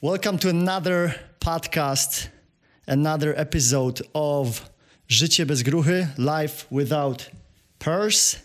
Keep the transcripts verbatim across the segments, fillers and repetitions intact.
Welcome to another podcast, another episode of Życie bez gruchy, Life Without Purse.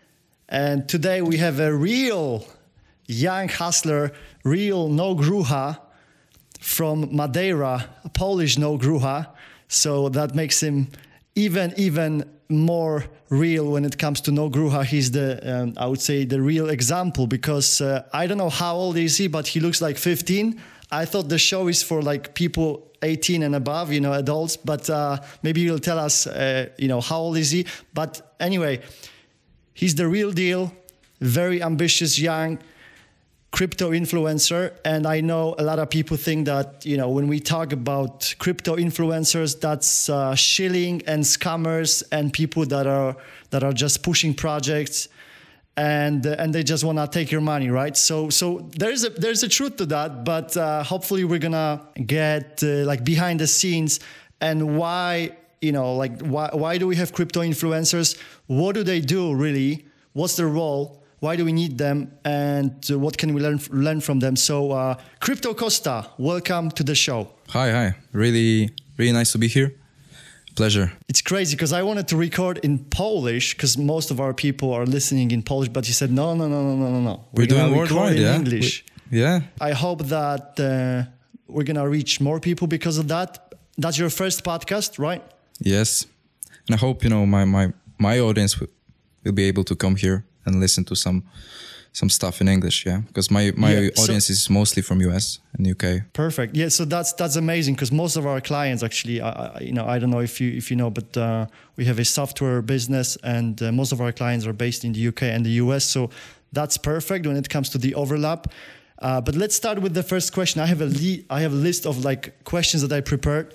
And today we have a real young hustler, real no grucha from Madeira, a Polish no grucha. So that makes him even, even more real when it comes to no grucha. He's the, um, I would say, the real example because uh, I don't know how old is he, but he looks like fifteen. I thought the show is for like people eighteen and above, you know, adults, but uh, maybe you'll tell us, uh, you know, how old is he? But anyway, he's the real deal, very ambitious, young crypto influencer. And I know a lot of people think that, you know, when we talk about crypto influencers, that's uh, shilling and scammers and people that are that are just pushing projects and uh, and they just want to take your money, right? So so there's a there's a truth to that, but uh, hopefully we're gonna get uh, like behind the scenes and why, you know, like why why do we have crypto influencers? What do they do really? What's their role? Why do we need them? And uh, what can we learn learn from them? So uh, Crypto Costa, welcome to the show. Hi, hi. Really, really nice to be here. Pleasure. It's crazy because I wanted to record in Polish because most of our people are listening in Polish, but you said, no, no, no, no, no, no, no. We're, we're doing worldwide, in yeah? English. We, yeah. I hope that uh, we're going to reach more people because of that. That's your first podcast, right? Yes. And I hope, you know, my, my, my audience will, will be able to come here and listen to some some stuff in English, yeah, because my my yeah, audience so, is mostly from U S and U K. Perfect, yeah. So that's that's amazing because most of our clients actually, I, you know, I don't know if you if you know, but uh, we have a software business, and uh, most of our clients are based in the U K and the U S. So that's perfect when it comes to the overlap. Uh, but let's start with the first question. I have a le- I have a list of like questions that I prepared,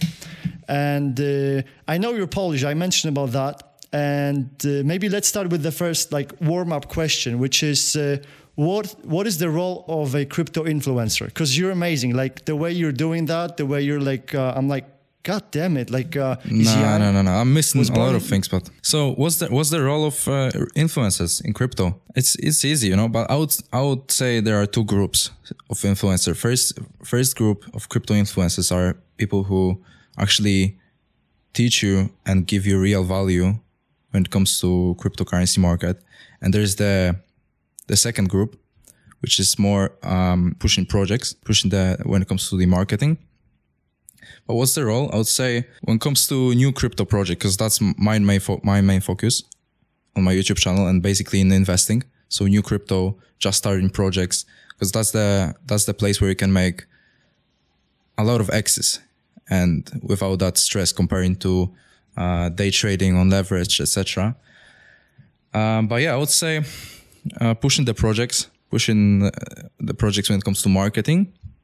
and uh, I know you're Polish. I mentioned about that. And uh, maybe let's start with the first like warm-up question, which is uh, what what is the role of a crypto influencer? Because you're amazing, like the way you're doing that, the way you're like, uh, I'm like, God damn it, like. Uh, no, no, no, no. I'm missing a lot of things. But so what's the what's the role of uh, influencers in crypto? It's it's easy, you know. But I would I would say there are two groups of influencers. First first group of crypto influencers are people who actually teach you and give you real value when it comes to cryptocurrency market. And there's the the second group, which is more um, pushing projects, pushing the when it comes to the marketing. But what's the role? I would say when it comes to new crypto project, because that's my main fo- my main focus on my YouTube channel and basically in investing. So new crypto, just starting projects, because that's the that's the place where you can make a lot of X's and without that stress comparing to Uh, day trading on leverage, et cetera. Um, but yeah, I would say uh, pushing the projects, pushing uh, the projects when it comes to marketing,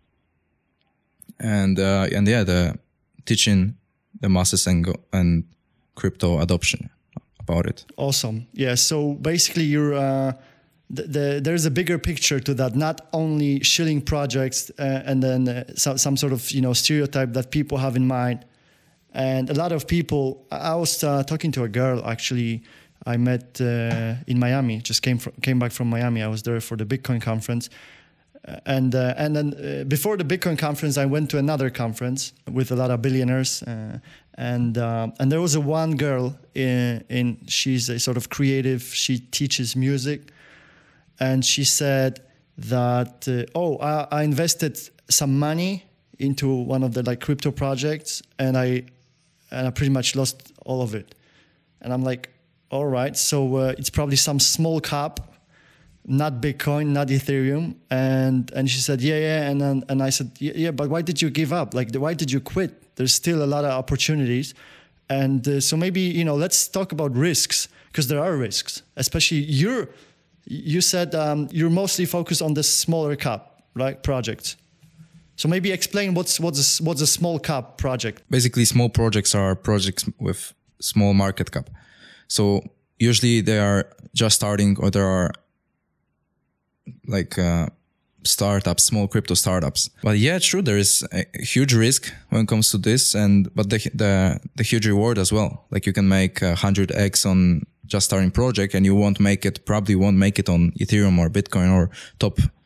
and uh, and yeah, the teaching the masses and go, and crypto adoption about it. Awesome. Yeah. So basically, you're uh, the, the there's a bigger picture to that. Not only shilling projects uh, and then uh, so, some sort of you know stereotype that people have in mind. And a lot of people, I was uh, talking to a girl actually I met uh, in Miami, just came from, came back from Miami. I was there for the Bitcoin conference. Uh, and uh, and then uh, before the Bitcoin conference, I went to another conference with a lot of billionaires. Uh, and uh, and there was a one girl, in, in she's a sort of creative, she teaches music. And she said that, uh, oh, I, I invested some money into one of the like crypto projects and I and I pretty much lost all of it. And I'm like, all right, so uh, it's probably some small cap, not Bitcoin, not Ethereum. And and she said, yeah, yeah. And then, and I said, yeah, yeah, but why did you give up? Like, why did you quit? There's still a lot of opportunities. And uh, so maybe, you know, let's talk about risks, because there are risks, especially you're, you said um, you're mostly focused on the smaller cap, right, projects. So maybe explain what's what's a, what's a small cap project. Basically, small projects are projects with small market cap. So usually they are just starting, or there are like uh, startups, small crypto startups. But yeah, true, there is a huge risk when it comes to this, and but the the the huge reward as well. Like you can make one hundred x on just starting project, and you won't make it, probably won't make it on Ethereum or Bitcoin or top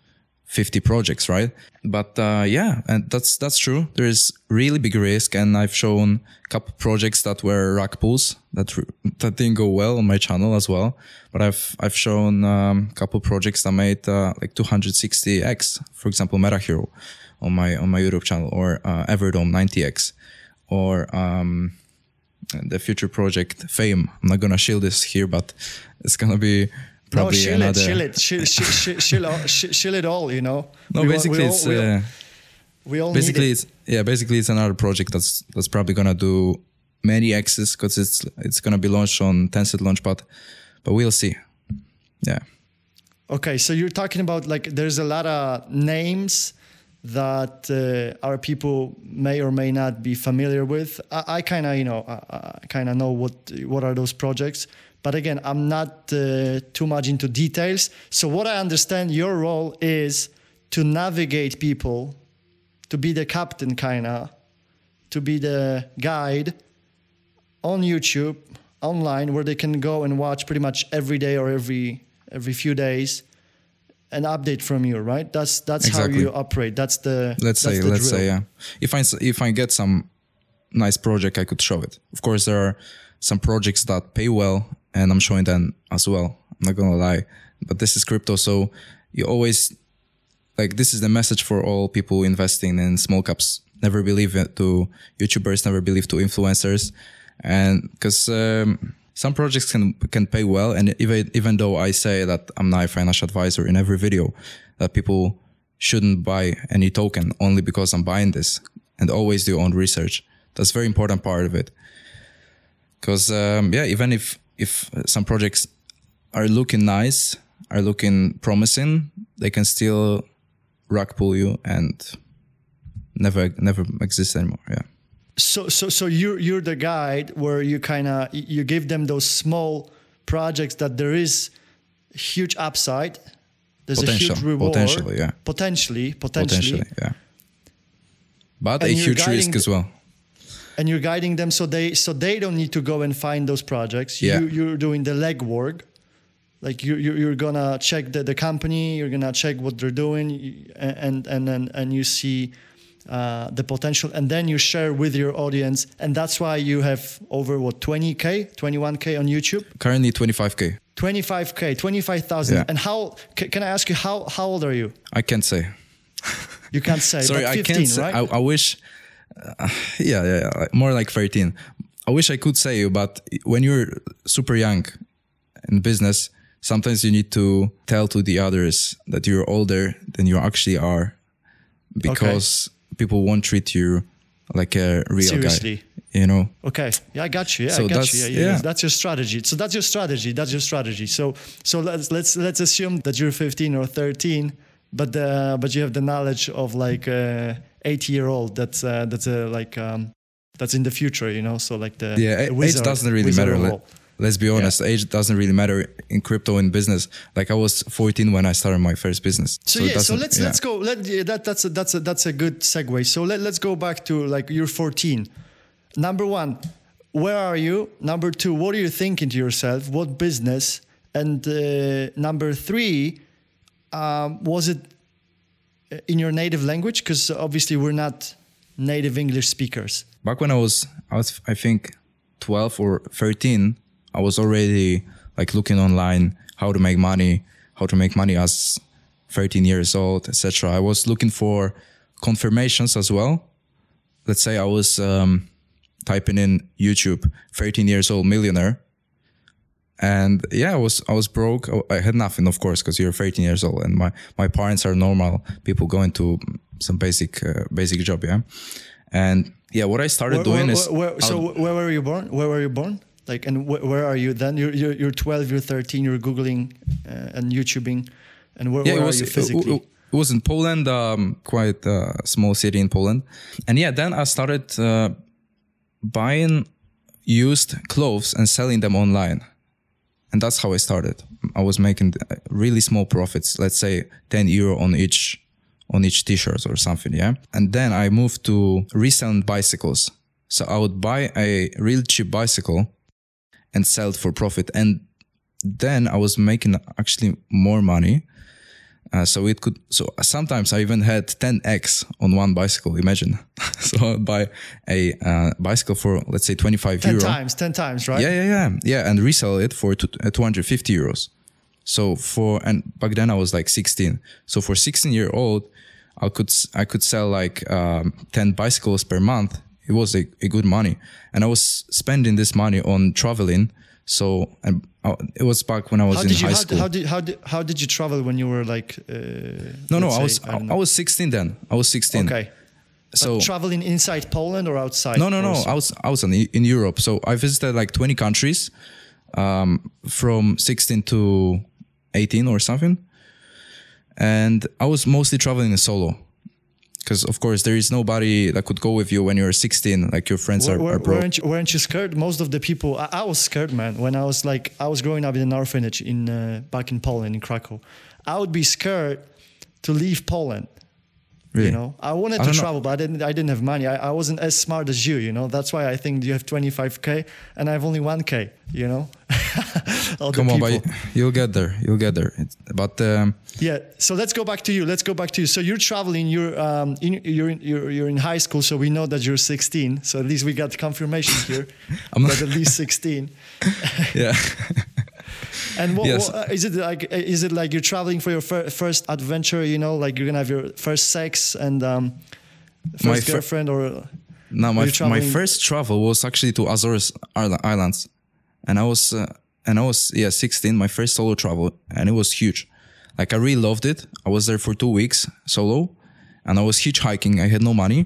fifty projects, right? But uh, yeah, and that's that's true. There is really big risk, and I've shown a couple projects that were rug pulls that that didn't go well on my channel as well. But I've I've shown um, a couple projects that made uh, like two hundred sixty x, for example, Meta Hero on my on my YouTube channel, or uh, Everdome ninety x, or um, the future project Fame. I'm not gonna shield this here, but it's gonna be. Probably no, shill another... it, shill it, shill, shill, shill, shill, all, shill, shill it all, you know. No, we basically all, we it's all, we all, uh, we all basically need it's yeah, basically it's another project that's that's probably gonna do many X's because it's it's gonna be launched on Tencent Launchpad, but we'll see. Yeah. Okay, so you're talking about like there's a lot of names that uh, our people may or may not be familiar with. I, I kind of you know I, I kind of know what what are those projects. But again, I'm not uh, too much into details. So what I understand your role is to navigate people, to be the captain kind of, to be the guide on YouTube, online, where they can go and watch pretty much every day or every every few days an update from you, right? That's that's exactly. how you operate. That's the let's that's say the let's drill. say yeah. If I if I get some nice project, I could show it. Of course, there are some projects that pay well, and I'm showing them as well. I'm not gonna lie, but this is crypto, so you always like this is the message for all people investing in small caps. Never believe it to YouTubers, never believe to influencers, and because um, some projects can can pay well, and even even though I say that I'm not a financial advisor in every video, that people shouldn't buy any token only because I'm buying this, and always do your own research. That's a very important part of it. Because um, yeah, even if if some projects are looking nice, are looking promising, they can still rug pull you and never never exist anymore. Yeah. So so so you're you're the guide where you kind of you give them those small projects that there is huge upside, there's Potential, a huge reward, potentially, yeah, potentially, potentially, potentially, yeah, but and a huge risk the, as well. And you're guiding them so they so they don't need to go and find those projects. Yeah. You, you're doing the legwork. Like you, you you're gonna check the, the company. You're gonna check what they're doing, and and and and you see uh, the potential, and then you share with your audience. And that's why you have over what twenty K, twenty-one K on YouTube. Currently twenty-five K. twenty-five K, twenty-five thousand. Yeah. And how can, can I ask you how how old are you? I can't say. You can't say. Sorry, but fifteen, I can't say. Right? I, I wish. Uh, yeah, yeah, yeah, more like thirteen. I wish I could say you, but when you're super young in business, sometimes you need to tell to the others that you're older than you actually are, because okay. people won't treat you like a real Seriously. guy. You know. Okay. Yeah, I got you. Yeah, so I got you. Yeah, yeah, yeah. That's your strategy. So that's your strategy. That's your strategy. So so let's let's let's assume that you're fifteen or thirteen, but uh, but you have the knowledge of like a eighty year old. That's uh, that's a like um, that's in the future. You know. So like the yeah the wizard, age doesn't really matter. Let, let's be honest. Yeah. Age doesn't really matter in crypto and business. Like I was fourteen when I started my first business. So, so yeah. So let's yeah. let's go. Let yeah, that that's a that's a that's a good segue. So let let's go back to like you're fourteen. Number one. Where are you? Number two, what are you thinking to yourself? What business? And uh, number three, um, was it in your native language? Because obviously we're not native English speakers. Back when I was, I was, I think, twelve or thirteen, I was already like looking online how to make money, how to make money as thirteen years old, et cetera. I was looking for confirmations as well. Let's say I was. Um, typing in YouTube, thirteen years old millionaire. And yeah, I was, I was broke. I had nothing, of course, because you're thirteen years old and my, my parents are normal people going to some basic, uh, basic job. Yeah. And yeah, what I started where, doing where, is. Where, so where were you born? Where were you born? Like, and wh where are you then? You're, you're, you're twelve, you're thirteen, you're Googling uh, and YouTubing. And where, yeah, where it was, are you physically? It, it was in Poland, um, quite a small city in Poland. And yeah, then I started, uh, buying used clothes and selling them online. And that's how I started. I was making really small profits, let's say ten euro on each, on each t-shirt or something. Yeah. And then I moved to reselling bicycles. So I would buy a real cheap bicycle and sell it for profit. And then I was making actually more money. Uh, so it could. So sometimes I even had ten x on one bicycle. Imagine. So I'd buy a uh, bicycle for, let's say, twenty-five ten euro. Ten times, ten times, right? Yeah, yeah, yeah, yeah, and resell it for two, uh, two hundred fifty euros. So for, and back then I was like sixteen. So for sixteen year old, I could I could sell like um, ten bicycles per month. It was a, a good money, and I was spending this money on traveling. So and uh, it was back when I was how in did you, high how, school. How did how did how did you travel when you were like? Uh, no, no, I say, was I, I, I was sixteen then. I was sixteen. Okay. So but traveling inside Poland or outside? No, no, no. also? I was I was in, in Europe. So I visited like twenty countries, um, from sixteen to eighteen or something, and I was mostly traveling solo. Because of course there is nobody that could go with you when you're sixteen. Like your friends were, are, were, are broke. Weren't you, weren't you scared? Most of the people, I, I was scared, man. When I was like, I was growing up in an orphanage in uh, back in Poland, in Krakow. I would be scared to leave Poland. Really? You know, I wanted I to don't know. travel, but I didn't. I didn't have money. I, I wasn't as smart as you. You know, that's why I think you have twenty-five K and I have only one K. You know, all Come the on, people. but you'll get there. You'll get there. It's, but um, Yeah. So let's go back to you. Let's go back to you. So you're traveling. You're um. In, you're in, you're you're in high school. So we know that you're sixteen. So at least we got confirmation here. I'm not- that at least sixteen. yeah. And what, Yes. what, uh, is it like? uh, Is it like you're traveling for your fir- first adventure? You know, like you're gonna have your first sex and um, first My fir- girlfriend, or No, my Are you my traveling- first travel was actually to Azores Isla- Islands, and I was uh, and I was yeah sixteen. My first solo travel, and it was huge. Like I really loved it. I was there for two weeks solo, and I was hitchhiking. I had no money,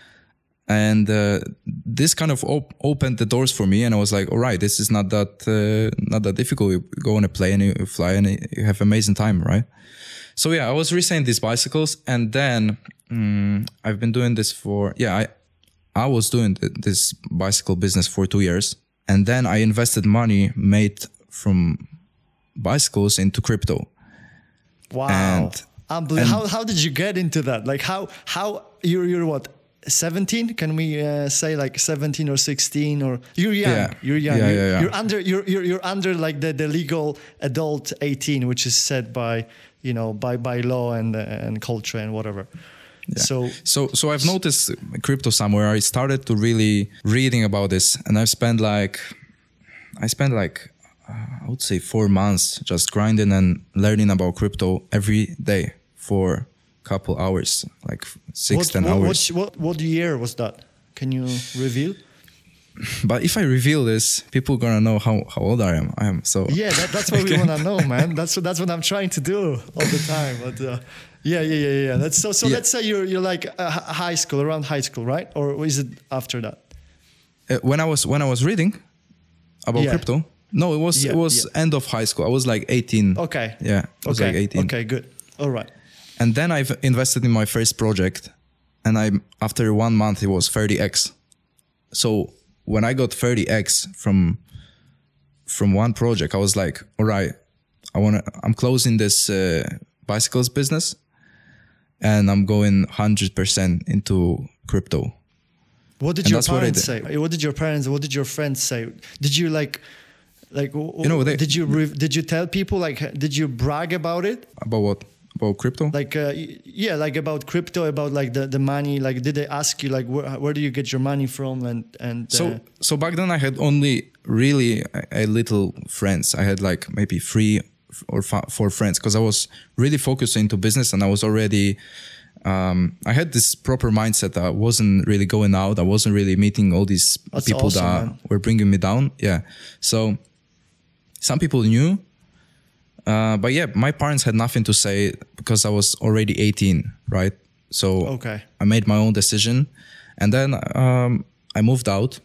and uh, this kind of op- opened the doors for me. And I was like, all right, this is not that uh, not that difficult. You go on a plane, you fly, and you have amazing time, right? So yeah, I was reselling these bicycles, and then mm, I've been doing this for yeah I. I was doing th- this bicycle business for two years, and then I invested money made from bicycles into crypto. wow, And- unbelievable. How how did you get into that? Like how how you're you're what? seventeen? Can we uh, say like seventeen or sixteen, or you're young? Yeah. You're young. Yeah, you're, yeah, yeah. you're under. You're, you're you're under like the, the legal adult eighteen, which is set by you know by by law and uh, and culture and whatever. Yeah. So So, so I've noticed crypto somewhere. I started to really reading about this, and I've spent like, I spent like, uh, I would say four months just grinding and learning about crypto every day for a couple hours, like six, what, ten what, hours. What, what what year was that? Can you reveal? But if I reveal this, people are gonna know how, how old I am. I am so Yeah, that, that's what we want to know, man. That's what that's what I'm trying to do all the time. But uh, yeah, yeah, yeah, yeah. That's so. So Yeah. let's say you're you're like uh, hi- high school, around high school, right? Or is it after that? Uh, when I was when I was reading about Yeah. crypto, no, it was Yeah, it was yeah. end of high school. I was like eighteen. Okay. Yeah, I was okay. like eighteen. Okay. Good. All right. And then I've invested in my first project, and I after one month it was thirty x. So when I got thirty x from from one project, I was like, all right, I want to. I'm closing this uh, bicycles business, and I'm going one hundred percent into crypto. What did And your that's what I parents did. say? What did your parents? What did your friends say? Did you like, like, w- You know, they- did you re- did you tell people like? Did you brag about it? About what? About crypto? Like, uh, y- yeah, like about crypto, about like the, the money. Like, did they ask you like where, where do you get your money from? And and So uh, so back then I had only really a, a little friends. I had like maybe three or f- four friends because I was really focused into business, and I was already. Um, I had this proper mindset. I wasn't really going out. I wasn't really meeting all these That's people awesome, that man. were bringing me down. Yeah. So some people knew, uh, but yeah, my parents had nothing to say because I was already eighteen, right? So okay. I made my own decision, and then um, I moved out,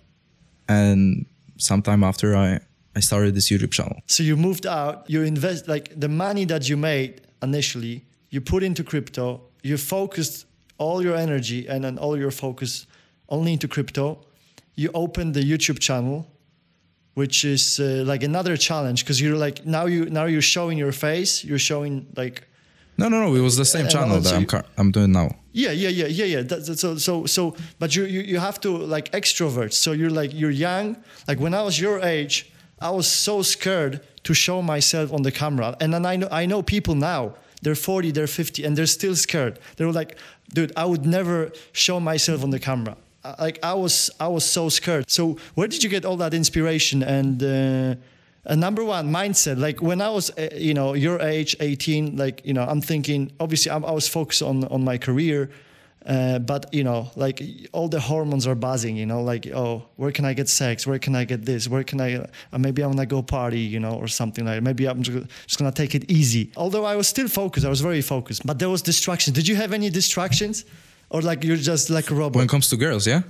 and sometime after I, I started this YouTube channel. So you moved out. You invest like the money that you made initially. You put into crypto. You focused all your energy and then all your focus only into crypto. You opened the YouTube channel, which is uh, like another challenge because you're like now you now you're showing your face. You're showing like No, no, no. It was the same And channel also that I'm you- car- I'm doing now. yeah yeah yeah yeah yeah. That's, so so so but you, you you have to like extrovert. So you're like you're young. Like when I was your age, I was so scared to show myself on the camera. And then I know I know people now they're forty, they're fifty, and they're still scared. They're like, dude, I would never show myself on the camera. Like I was, I was so scared. So where did you get all that inspiration and uh, a number one mindset? Like when I was, uh, you know, your age, eighteen, like, you know, I'm thinking, obviously I'm, I was focused on, on my career, uh, but you know, like all the hormones are buzzing, you know, like, oh, where can I get sex? Where can I get this? Where can I, uh, maybe I want to go party, you know, or something like that. Maybe I'm just, just going to take it easy. Although I was still focused, I was very focused, but there was distraction. Did you have any distractions? Or like you're just like a robot? When it comes to girls, yeah?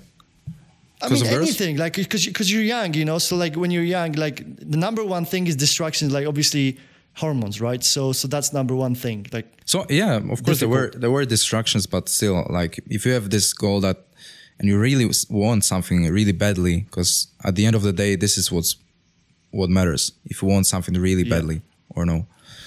I mean, anything, like, because because you're young, you know, so like when you're young, like the number one thing is distractions, like obviously hormones, right? So so that's number one thing. Like So yeah, of course difficult. there were there were distractions, but still, like if you have this goal that, and you really want something really badly, because at the end of the day, this is what's what matters. If you want something really yeah. badly or no.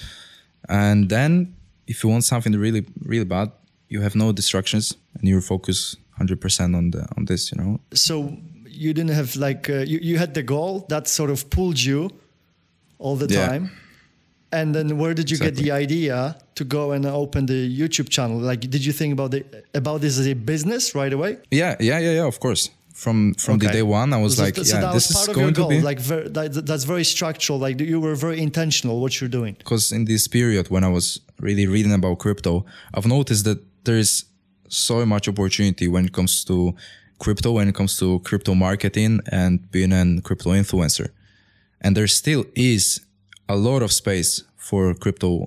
And then if you want something really, really bad, you have no distractions and you focus one hundred percent on the on this, you know. So you didn't have like uh, you you had the goal that sort of pulled you all the yeah. time, and then where did you exactly. get the idea to go and open the YouTube channel? Like, did you think about the about this as a business right away? Yeah, yeah, yeah, yeah. Of course. From from okay. the day one, I was so like, so yeah, this is going to be like very, that, that's very structural. Like you were very intentional what you're doing. Because in this period when I was really reading about crypto, I've noticed that there is so much opportunity when it comes to crypto, when it comes to crypto marketing and being a crypto influencer. And there still is a lot of space for crypto,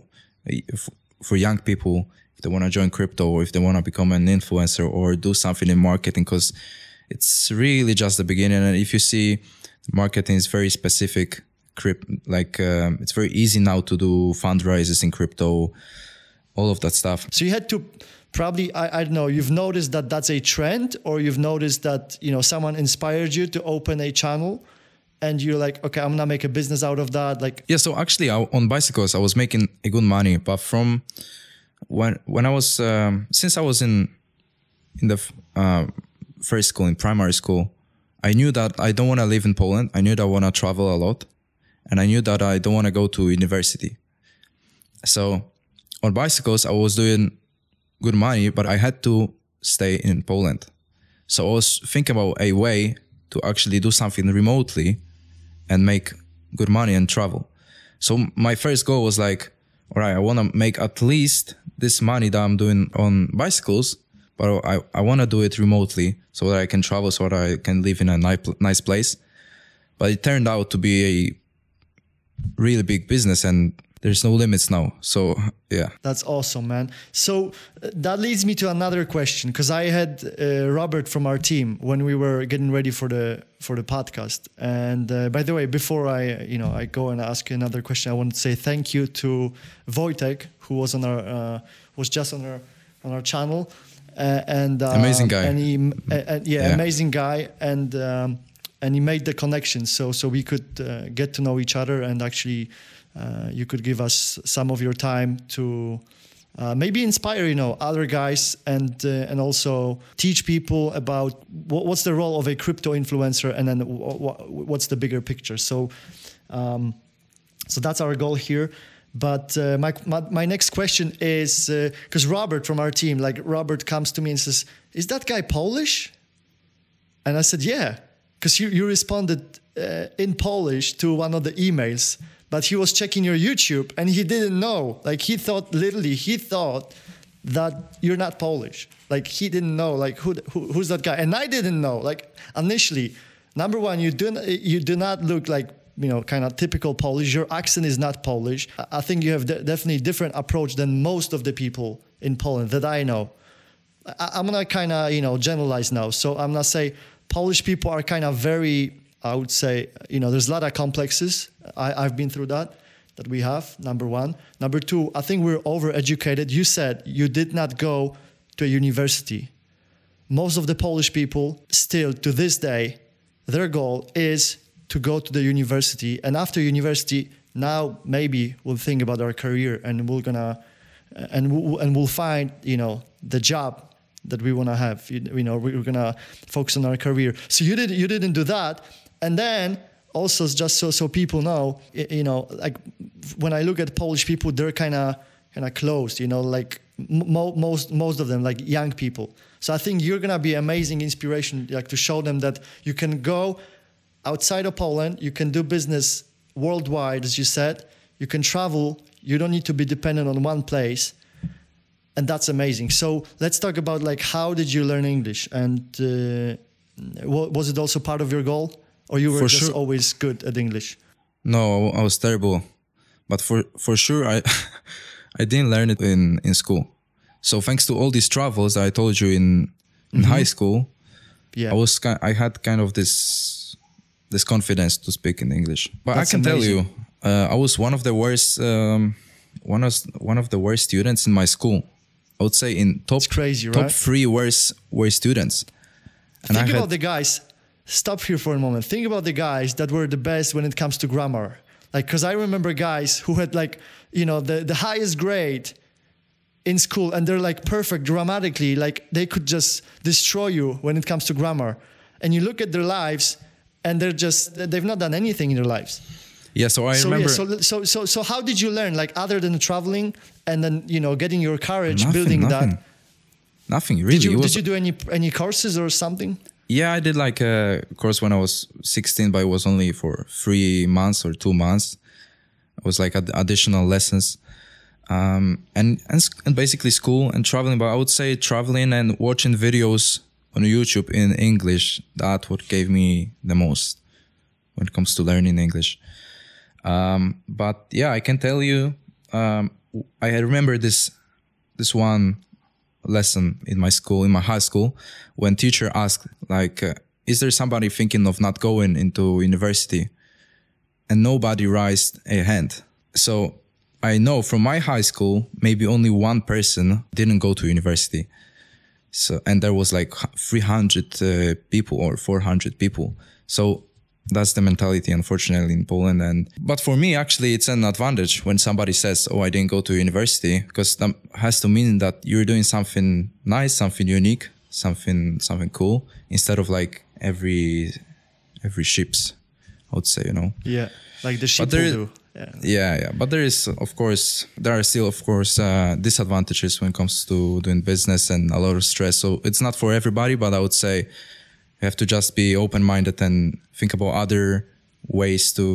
for young people, if they want to join crypto or if they want to become an influencer or do something in marketing, because it's really just the beginning. And if you see, marketing is very specific, like um, it's very easy now to do fundraisers in crypto, all of that stuff. So you had to probably, I, I don't know, you've noticed that that's a trend, or you've noticed that, you know, someone inspired you to open a channel and you're like, okay, I'm going to make a business out of that. Like, yeah. So actually I, on bicycles, I was making a good money, but from when, when I was, um, since I was in, in the uh, first school, in primary school, I knew that I don't want to live in Poland. I knew that I want to travel a lot, and I knew that I don't want to go to university. So on bicycles, I was doing good money, but I had to stay in Poland. So I was thinking about a way to actually do something remotely and make good money and travel. So my first goal was like, all right, I want to make at least this money that I'm doing on bicycles, but I, I want to do it remotely so that I can travel, so that I can live in a nice place. But it turned out to be a really big business, and there's no limits now. So, yeah. That's awesome, man. So uh, that leads me to another question, because I had uh, Robert from our team when we were getting ready for the for the podcast. And uh, by the way, before I you know I go and ask you another question, I want to say thank you to Wojtek, who was on our uh, was just on our on our channel, uh, and uh, amazing guy. And he, uh, uh, yeah, yeah, amazing guy, and um, and he made the connection, so so we could uh, get to know each other, and actually. Uh, you could give us some of your time to uh, maybe inspire, you know, other guys, and uh, and also teach people about what, what's the role of a crypto influencer, and then w- w- what's the bigger picture. So, um, so that's our goal here. But uh, my, my my next question is, because uh, Robert from our team, like Robert comes to me and says, "Is that guy Polish?" And I said, "Yeah," because you you responded uh, in Polish to one of the emails. But he was checking your YouTube and he didn't know. Like he thought, literally, he thought that you're not Polish. Like he didn't know, like who, who who's that guy? And I didn't know. Like initially, number one, you do you do not look like, you know, kind of typical Polish. Your accent is not Polish. I think you have de- definitely different approach than most of the people in Poland that I know. I- I'm gonna kind of, you know, generalize now. So I'm gonna say Polish people are kind of very, I would say, you know, there's a lot of complexes. I, I've been through that, that we have, number one. Number two, I think we're overeducated. You said you did not go to a university. Most of the Polish people still, to this day, their goal is to go to the university. And after university, now maybe we'll think about our career, and we're gonna, and we'll, and we'll find, you know, the job that we want to have. You, you know, we're gonna focus on our career. So you did, you didn't do that. And then also, just so so people know, you know, like when I look at Polish people, they're kind of kind of closed, you know, like mo- most most of them, like young people. So I think you're gonna be amazing inspiration, like to show them that you can go outside of Poland, you can do business worldwide, as you said, you can travel, you don't need to be dependent on one place, and that's amazing. So let's talk about like how did you learn English, and uh, was it also part of your goal, or you were For just sure. always good at English? No, I was terrible, but for for sure I I didn't learn it in in school. So thanks to all these travels I told you in in Mm-hmm. high school, Yeah, I was ki- I had kind of this this confidence to speak in English. But That's I can tell amazing. you, uh, I was one of the worst um, one of one of the worst students in my school. I would say in top It's crazy, top right? three worst worst students. And Think I about had, the guys. Stop here for a moment. Think about the guys that were the best when it comes to grammar. Like, because I remember guys who had like, you know, the, the highest grade in school, and they're like perfect grammatically. Like they could just destroy you when it comes to grammar. And you look at their lives, and they're just they've not done anything in their lives. yeah. So I So remember yeah, so so so so how did you learn? Like other than traveling and then you know getting your courage, nothing, building nothing, that. nothing really. Did you It was, did you do any any courses or something? Yeah, I did like a course when I was sixteen, but it was only for three months or two months. It was like ad- additional lessons, um, and, and s- and basically school and traveling. But I would say traveling and watching videos on YouTube in English, that what gave me the most when it comes to learning English. Um, but yeah, I can tell you, um, I remember this this one lesson in my school, in my high school, when teacher asked, like, uh, is there somebody thinking of not going into university? And nobody raised a hand. So I know from my high school, maybe only one person didn't go to university. So, and there was like three hundred uh, people or four hundred people. So that's the mentality, unfortunately, in Poland. And but for me, actually, it's an advantage when somebody says, "Oh, I didn't go to university," because that has to mean that you're doing something nice, something unique, something something cool, instead of like every every ships, I would say, you know. Yeah, like the sheep there will is- do. Yeah. Yeah, yeah, but there is, of course, there are still, of course, uh, disadvantages when it comes to doing business and a lot of stress. So it's not for everybody, but I would say you have to just be open-minded and think about other ways to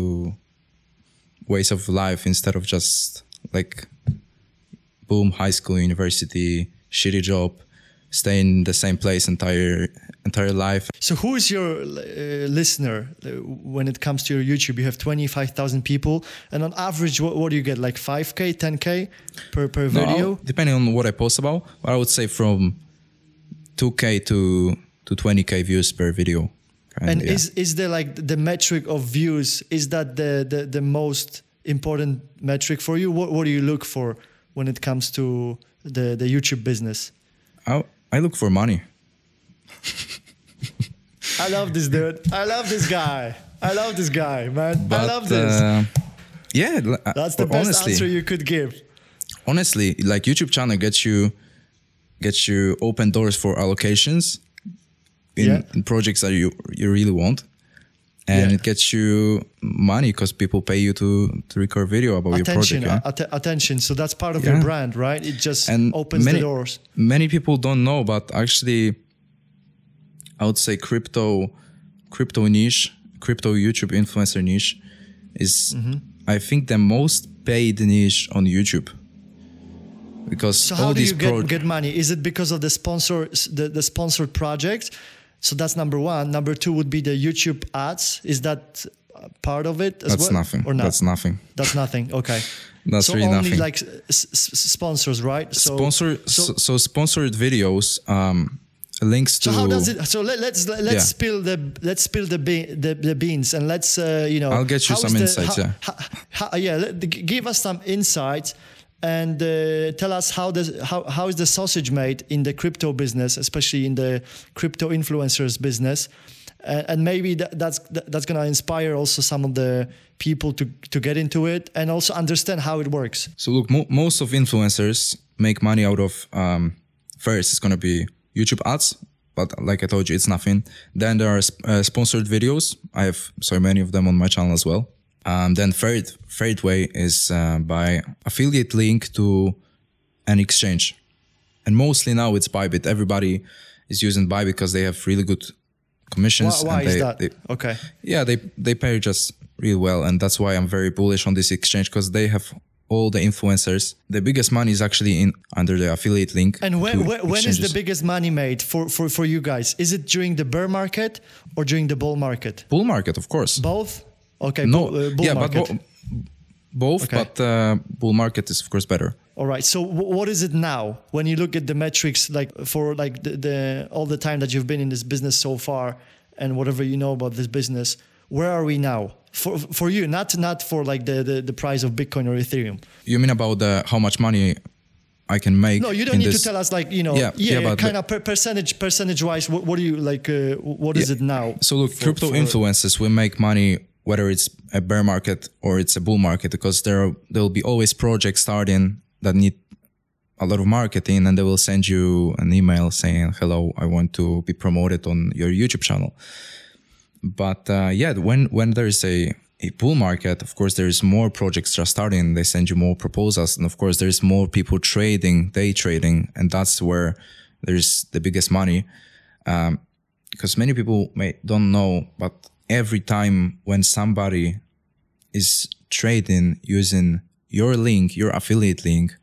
ways of life instead of just like boom, high school, university, shitty job, stay in the same place entire entire life. So who is your uh, listener uh, when it comes to your YouTube? You have twenty-five thousand people, and on average, what, what do you get? Like five K, ten K per, per No, video? depending on what I post about, but I would say from two K to to twenty K views per video. And yeah. is is there like the metric of views? Is that the, the, the most important metric for you? What, what do you look for when it comes to the, the YouTube business? I, I look for money. I love this dude. I love this guy. I love this guy, man. I But, love this. Uh, yeah, l- uh, That's the but best honestly, answer you could give. honestly, like YouTube channel gets you gets you open doors for allocations in, Yeah. in projects that you you really want, and Yeah. it gets you money because people pay you to to record video about Attention, your project. Yeah? att- attention. So that's part of Yeah. your brand, right? It just And opens many, the doors. Many people don't know, but actually, I would say crypto, crypto niche, crypto YouTube influencer niche, is Mm-hmm. I think the most paid niche on YouTube. Because So all how do these you get, pro- get money? Is it because of the sponsor, the, the sponsored project? So that's number one. Number two would be the YouTube ads. Is that uh, part of it as that's well? nothing. Or not? That's nothing. That's nothing. Okay. That's so really only nothing. like s- s- sponsors, right? So, Sponsor So, so, so sponsored videos, um, links to. so how does it? So let, let's let's Yeah. spill the let's spill the, be, the the beans and let's uh, you know. I'll get you how some is the- insights, how- yeah. how- how- yeah. Let, g- give us some insights and uh, tell us how the how how is the sausage made in the crypto business, especially in the crypto influencers business. Uh, and maybe that, that's that, that's gonna inspire also some of the people to to get into it and also understand how it works. So look, mo- most of influencers make money out of um, first it's gonna be YouTube ads, but like I told you, it's nothing. Then there are sp- uh, sponsored videos. I have so many of them on my channel as well. Um, then third third way is uh, by affiliate link to and exchange. And mostly now it's Bybit. Everybody is using Bybit because they have really good commissions. Why, why and is they, that? They, okay. Yeah, they, they pay just real well. And that's why I'm very bullish on this exchange, because they have all the influencers. The biggest money is actually in under the affiliate link. And when, when, when is the biggest money made for, for, for you guys? Is it during the bear market or during the bull market? Bull market, of course. Both? Okay, no, bull, uh, bull yeah, market. but bo- both, okay. but uh, bull market is of course better. All right. So w- what is it now when you look at the metrics, like for like the, the all the time that you've been in this business so far, and whatever you know about this business? Where are we now for for you? Not not for like the, the, the price of Bitcoin or Ethereum. You mean about the how much money I can make? No, you don't in need this? to tell us like you know yeah, yeah, yeah yeah kind of per percentage percentage wise. What, what do you like? Uh, what is yeah. it now? So look, for, crypto for, influencers will make money whether it's a bear market or it's a bull market, because there are, there will be always projects starting that need a lot of marketing, and they will send you an email saying, hello, I want to be promoted on your YouTube channel. But uh, yeah, when when there is a, a bull market, of course, there is more projects that are starting. They send you more proposals. And of course, there is more people trading, day trading. And that's where there's the biggest money. Um, because many people may don't know, but every time when somebody is trading using your link, your affiliate link,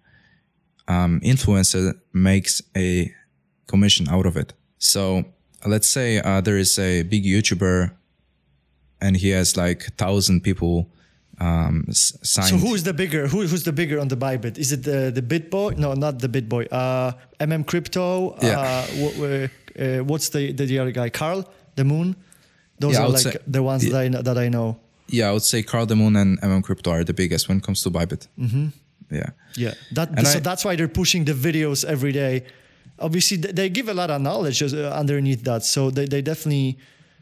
um, influencer makes a commission out of it. So let's say uh, there is a big YouTuber and he has like a thousand people um, signed. So who is the bigger? Who, who's the bigger on the Bybit? Is it the the BitBoy? No, not the BitBoy. Uh, M M Crypto. Yeah. Uh, w- uh, what's the the other guy? Carl the Moon. Those yeah, are like say, the ones yeah. that I know, that I know. Yeah, I would say Carl the Moon and M M Crypto are the biggest when it comes to Bybit. Mm-hmm. Yeah. Yeah. That and so I, that's why they're pushing the videos every day. Obviously, they give a lot of knowledge underneath that, so they, they definitely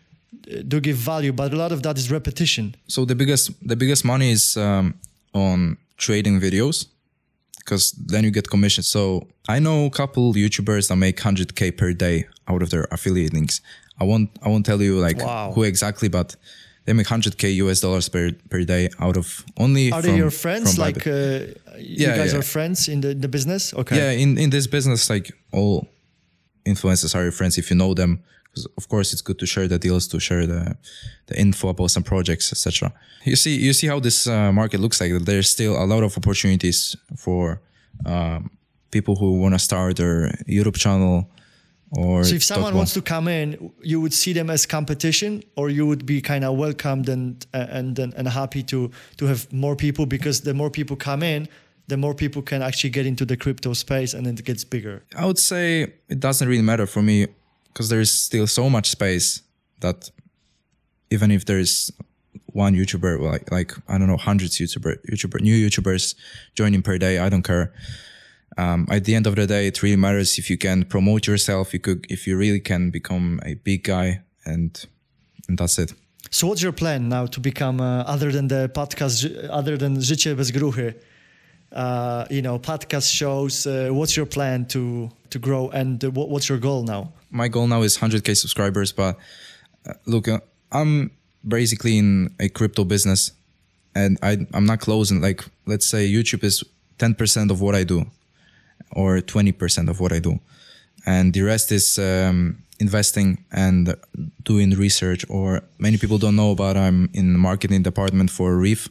do give value. But a lot of that is repetition. So the biggest the biggest money is um, on trading videos, because then you get commission. So I know a couple YouTubers that make one hundred K per day out of their affiliate links. I won't I won't tell you like wow. who exactly, but they make one hundred K U S dollars per per day out of only. Are from, they your friends? Like uh, you yeah, guys yeah. are friends in the, the business? Okay. Yeah, in, in this business, like all influencers are your friends if you know them. Because of course it's good to share the deals, to share the the info about some projects, et cetera. You see you see how this uh, market looks like. There's still a lot of opportunities for um, people who want to start their YouTube channel. Or so if someone wants to come in, you would see them as competition, or you would be kind of welcomed and and and, and happy to to have more people, because the more people come in, the more people can actually get into the crypto space, and then it gets bigger. I would say it doesn't really matter for me, because there is still so much space that even if there is one YouTuber, like like I don't know, hundreds YouTuber YouTuber new YouTubers joining per day, I don't care. Um, at the end of the day, it really matters if you can promote yourself, you could, if you really can become a big guy, and, and that's it. So what's your plan now to become, uh, other than the podcast, other than Życie bez gruchy, uh, you know, podcast shows, uh, what's your plan to, to grow, and uh, what, what's your goal now? My goal now is one hundred K subscribers, but uh, look, uh, I'm basically in a crypto business, and I, I'm not closing, like, let's say YouTube is ten percent of what I do, or twenty percent of what I do. And the rest is um, investing and doing research, or many people don't know about I'm in the marketing department for Reef,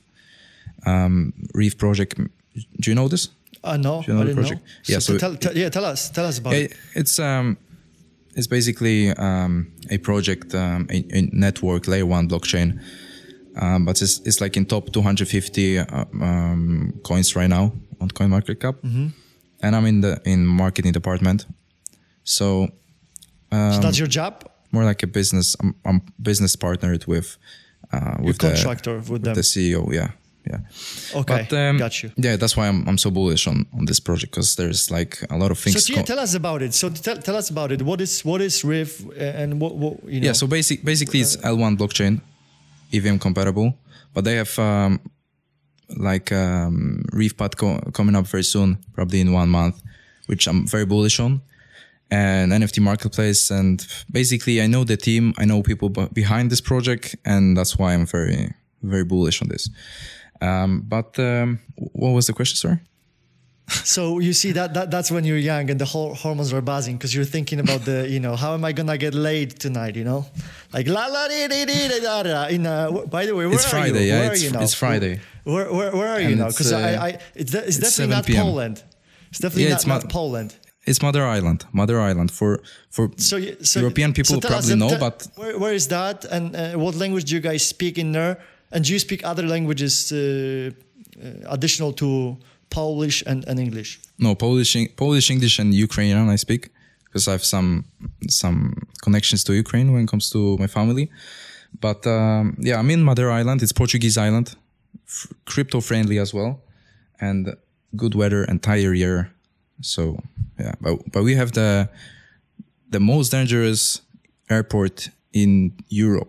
um, Reef project. Do you know this? Uh, no, Do you know I the didn't project? know. Yeah, so, so tell, tell, yeah, tell us, tell us about it. it. It's um, it's basically um, a project, um, a, a network layer one blockchain, um, but it's it's like in top two hundred fifty uh, um, coins right now on CoinMarketCap. Mm-hmm. And I'm in the in marketing department, so, um, so that's your job. More like a business. I'm, I'm business partnered with uh, with your contractor the, with them. the C E O. Yeah, yeah. Okay, but, um, got you. Yeah, that's why I'm I'm so bullish on, on this project, because there's like a lot of things. So yeah, tell us about it. So tell, tell us about it. What is what is Reef, and what, what you know? Yeah, so basic basically it's L one blockchain, E V M compatible, but they have. Um, like um, ReefPad co- coming up very soon, probably in one month, which I'm very bullish on, and N F T marketplace. And basically I know the team, I know people b- behind this project, and that's why I'm very, very bullish on this. Um, but um, what was the question, sorry? So you see that, that that's when you're young and the whole hormones are buzzing because you're thinking about the, you know, how am I gonna get laid tonight? You know, like la la di di di da da. In uh, by the way, where it's are Friday, you? Yeah, where it's, are you now? it's Friday. Where where, where are you And now? Because uh, I, I it's, de- it's, it's definitely not seven p m Poland. It's definitely Yeah, not, it's not ma- Poland. It's Mother Island. Mother Island for for So, you- so European people so tell us, probably know, tell- but where, where is that? And uh, what language do you guys speak in there? And do you speak other languages uh, uh, additional to Polish and, and English? no Polish, Polish, English, and Ukrainian I speak because I have some some connections to Ukraine when it comes to my family. But um, yeah, I'm in Mother Island. It's Portuguese island, f- crypto friendly as well, and good weather entire year. So yeah, but but we have the the most dangerous airport in Europe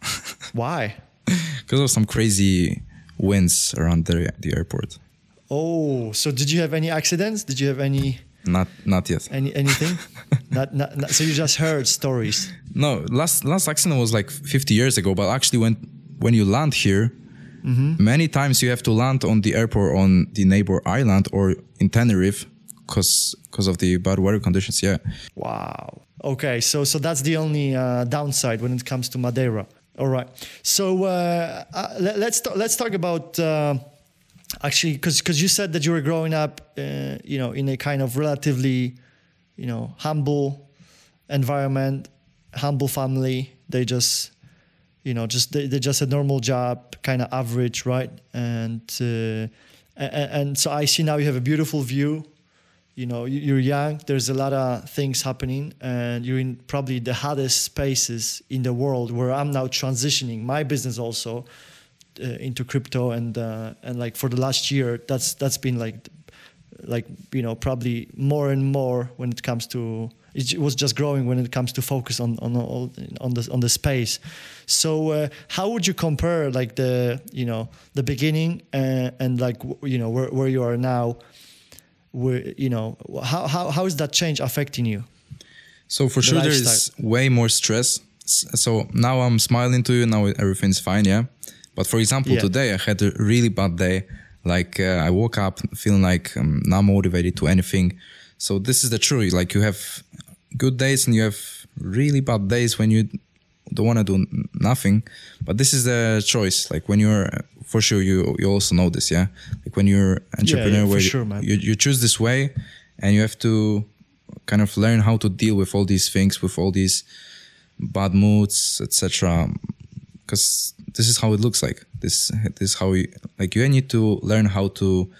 Why? because of some crazy winds around the the airport. Oh, so did you have any accidents? Did you have any Not not yet. any anything? not, not, not so you just heard stories. No, last last accident was like fifty years ago. But actually, when when you land here, many times you have to land on the airport on the neighbor island or in Tenerife, because because of the bad weather conditions. Yeah, Wow. Okay, so so that's the only uh, downside when it comes to Madeira. All right. So uh, uh, let, let's ta- let's talk about uh, actually because because you said that you were growing up, uh, you know, in a kind of relatively, you know, humble environment, humble family. They just, you know, just they, they just a normal job, kind of average, right? And uh, and, and so I see now you have a beautiful view. You know, you- you're young. There's a lot of things happening, and you're in probably the hottest spaces in the world. Where I'm now transitioning my business also uh, into crypto, and uh, and like for the last year, that's that's been like, like you know, probably more and more when it comes to. It was just growing when it comes to focus on on all on the on the space. So uh, how would you compare like the you know the beginning and, and like w- you know where where you are now? Where you know how how how is that change affecting you? so for The sure there is lifestyle. way more stress. S- So now I'm smiling to you. Now everything's fine. Yeah, but for example, Yeah. today I had a really bad day. Like uh, I woke up feeling like um, not motivated to anything. So this is the truth. Like you have good days and you have really bad days when you don't want to do n- nothing. But this is the choice. Like when you're, for sure, you you also know this, yeah. Like when you're entrepreneur, for where you, sure, man. you you choose this way, and you have to kind of learn how to deal with all these things, with all these bad moods, et cetera. Because this is how it looks like. This this is how you like. You need to learn how to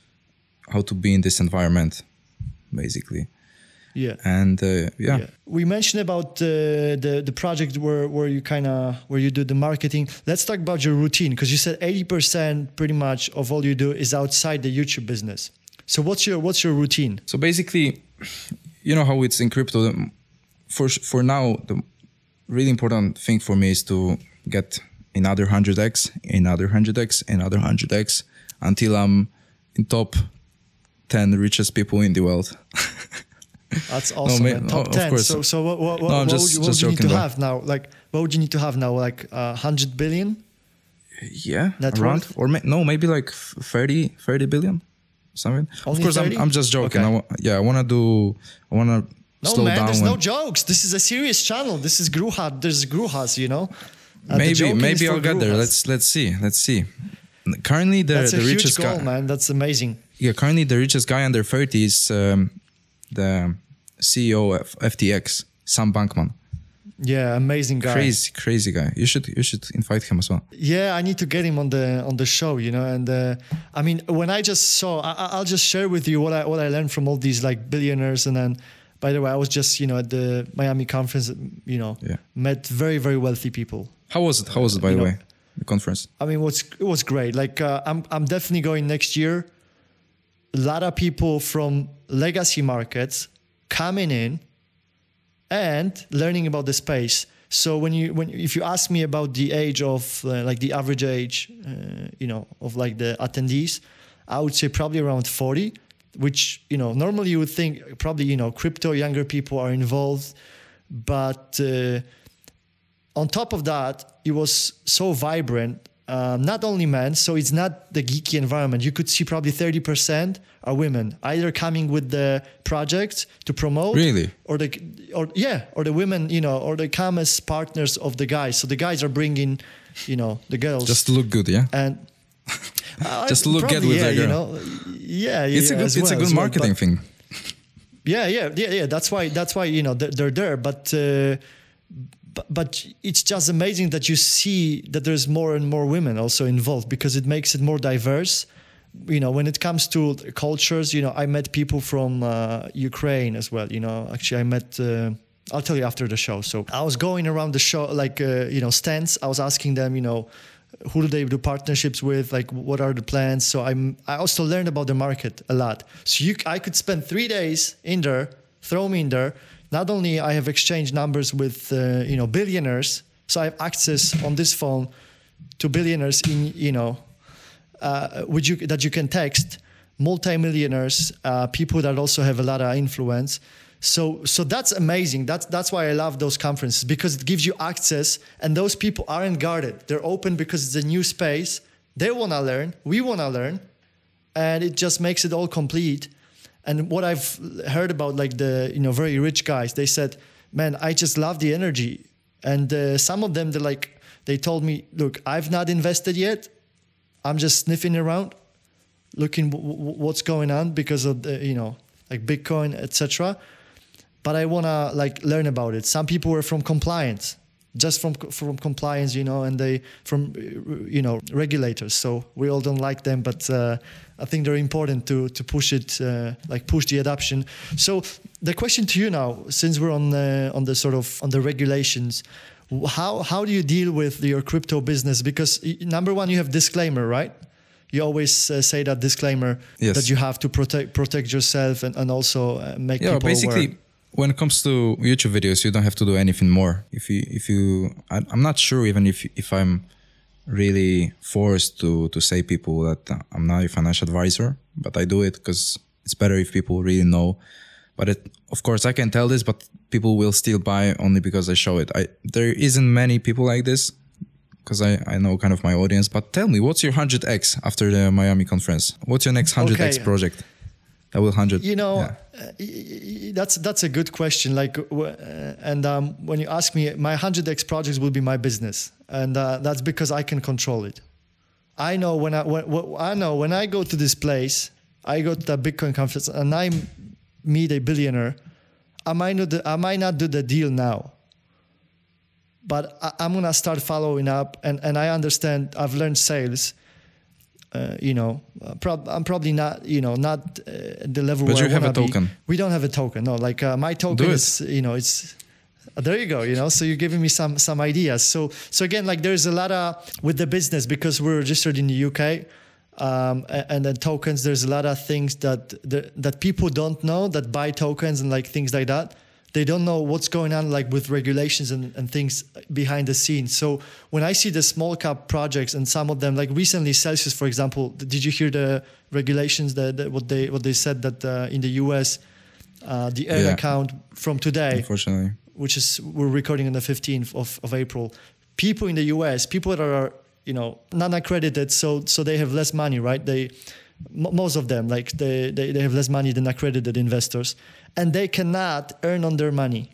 how to be in this environment, basically. Yeah. And uh, yeah. Yeah. We mentioned about uh, the the project where where you kind of where you do the marketing. Let's talk about your routine because you said eighty percent pretty much of all you do is outside the YouTube business. So what's your what's your routine? So basically, you know how it's in crypto. the- For for now, the really important thing for me is to get another one hundred x, another one hundred x, another one hundred x until I'm in top ten richest people in the world. That's awesome. ma- man. Top of ten. course. So so what what, what, No, I'm what just- would you, what just would you need to joking, bro. have now? Like what would you need to have now? Like a uh, hundred billion? Yeah, Net around worth? or ma- no, maybe like thirty, thirty billion, something. Only of course, thirty? I'm I'm just joking. Okay. I wa- yeah, I wanna do. I wanna No slow man, down. there's no and- jokes. This is a serious channel. This is Gruha. There's Gruhas, you know. Uh, the maybe joking is maybe for I'll get there. Gruhas. Let's let's see. Let's see. Currently, the That's a the huge richest goal, guy. man. That's amazing. Yeah, currently the richest guy under thirty is um, the C E O of F T X, Sam Bankman. Yeah, amazing guy. Crazy, crazy guy. You should you should invite him as well. Yeah, I need to get him on the on the show, you know. And uh, I mean, when I just saw, I, I- I'll just share with you what I what I learned from all these like billionaires. And then, by the way, I was just you know at the Miami conference, you know, Yeah. met very very wealthy people. How was it? How was it, by You the know- way, the conference? I mean, what's it was great. Like uh, I'm I'm definitely going next year. A lot of people from legacy markets coming in and learning about the space. So when you when if you ask me about the age of uh, like the average age, uh, you know, of like the attendees, I would say probably around forty. Which you know normally you would think probably you know crypto younger people are involved, but uh, on top of that, it was so vibrant uh, not only men, so it's not the geeky environment. You could see probably thirty percent are women, either coming with the projects to promote, really, or the or yeah, or the women, you know, or they come as partners of the guys. So the guys are bringing, you know, the girls just to look good, yeah, and uh, just to look probably, good with yeah, the girl. You know, yeah, yeah, it's yeah, a good, as it's well, a good as well, marketing but, thing. Yeah, yeah, yeah, yeah. That's why. That's why you know they're, they're there, but. Uh, But, but it's just amazing that you see that there's more and more women also involved, because it makes it more diverse. You know, when it comes to cultures, you know, I met people from uh, Ukraine as well. You know, actually, I met. Uh, I'll tell you after the show. So I was going around the show, like uh, you know, stands. I was asking them, you know, who do they do partnerships with? Like, what are the plans? So I'm. I also learned about the market a lot. So you, I could spend three days in there, throw me in there. Not only I have exchanged numbers with uh, you know billionaires, so I have access on this phone to billionaires in you know, uh, which you that you can text, multimillionaires, uh, people that also have a lot of influence. So so that's amazing. That's that's why I love those conferences, because it gives you access, and those people aren't guarded. They're open because it's a new space. They wanna learn. We wanna learn, and it just makes it all complete. And what I've heard about, like the you know very rich guys, they said, "Man, I just love the energy." And uh, some of them, they like they told me, "Look, I've not invested yet. I'm just sniffing around, looking w- w- what's going on because of the you know like Bitcoin, et cetera. But I wanna like learn about it." Some people were from compliance, just from from compliance, you know, and they from you know regulators. So we all don't like them, but. Uh, I think they're important to to push it, uh, like push the adoption. So the question to you now, since we're on the, on the sort of on the regulations, how how do you deal with your crypto business? Because number one, you have disclaimer, right? You always uh, say that disclaimer yes. that you have to protect protect yourself and and also uh, make yeah, people basically. aware. When it comes to YouTube videos, you don't have to do anything more. If you if you, I, I'm not sure even if if I'm. really forced to to say people that I'm not a financial advisor, but I do it because it's better if people really know. But it, of course, I can tell this, but people will still buy only because I show it. I there isn't many people like this because I, I know kind of my audience. But tell me, what's your one hundred X after the Miami conference? What's your next one hundred X okay. project? That will one hundred. You know, yeah. uh, that's that's a good question. Like, uh, and um, when you ask me, my one hundred X projects will be my business. And uh, that's because I can control it. I know when I when, I know when I go to this place, I go to the Bitcoin conference, and I meet a billionaire. I might not I might not do the deal now, but I, I'm gonna start following up, and, and I understand. I've learned sales. Uh, you know, uh, prob- I'm probably not, you know, not uh, the level. But where you I have a be. token. We don't have a token. No, like uh, my token is, you know, it's. There you go. You know, so you're giving me some some ideas. So so again, like there's a lot of with the business, because we're registered in the U K, um, and, and then tokens. There's a lot of things that the, that people don't know that buy tokens and like things like that. They don't know what's going on like with regulations and, and things behind the scenes. So when I see the small cap projects and some of them, like recently Celsius, for example, did you hear the regulations that, that what they what they said that uh, in the U S uh, the earn yeah. account from today, unfortunately. Which is we're recording on the fifteenth of, of April. People in the U S, people that are you know non-accredited, so so they have less money, right? They m- most of them like they, they they have less money than accredited investors, and they cannot earn on their money.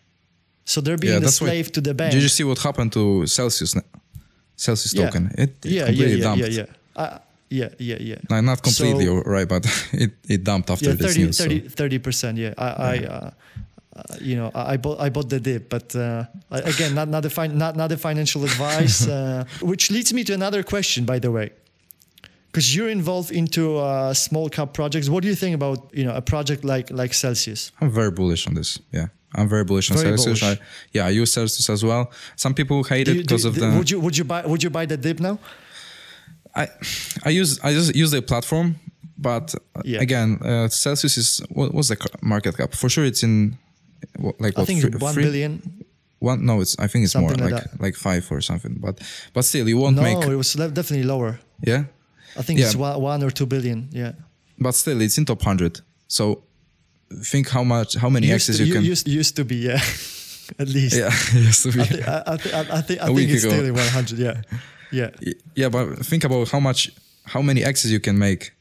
So they're being yeah, a slave what, to the bank. Did you see what happened to Celsius? Celsius yeah. token. It, it yeah, completely yeah, yeah, dumped. yeah, yeah. Uh, yeah, yeah, yeah. No, not completely so, right, but it, it dumped after yeah, this thirty, news. thirty, so. thirty percent. Yeah, I. Yeah. I uh, Uh, you know, I, I bought I bought the dip, but uh, again, not not a fin- not not a financial advice. Uh, which leads me to another question, by the way, because you're involved into uh, small cap projects. What do you think about you know a project like like Celsius? I'm very bullish on this. Yeah, I'm very bullish on very Celsius. Bullish. I, yeah, I use Celsius as well. Some people hate do it you, because do, of do, the. Would you would you buy would you buy the dip now? I I use I just use the platform, but yeah. again, uh, Celsius is what, what's the market cap? For sure, it's in. Like I what, think free, it's one free? billion. One no, it's I think it's something more like like like five or something. But but still, you won't no, make. No, it was definitely lower. Yeah, I think yeah. it's one, one or two billion. Yeah, but still, it's in top hundred. So think how much, how many used X's to, you can. Used, used to be, yeah, at least. Yeah, used to be. I, th- I, th- I, th- I think, I A think week it's ago. still in one hundred. Yeah. Yeah. Yeah, but think about how much, how many X's you can make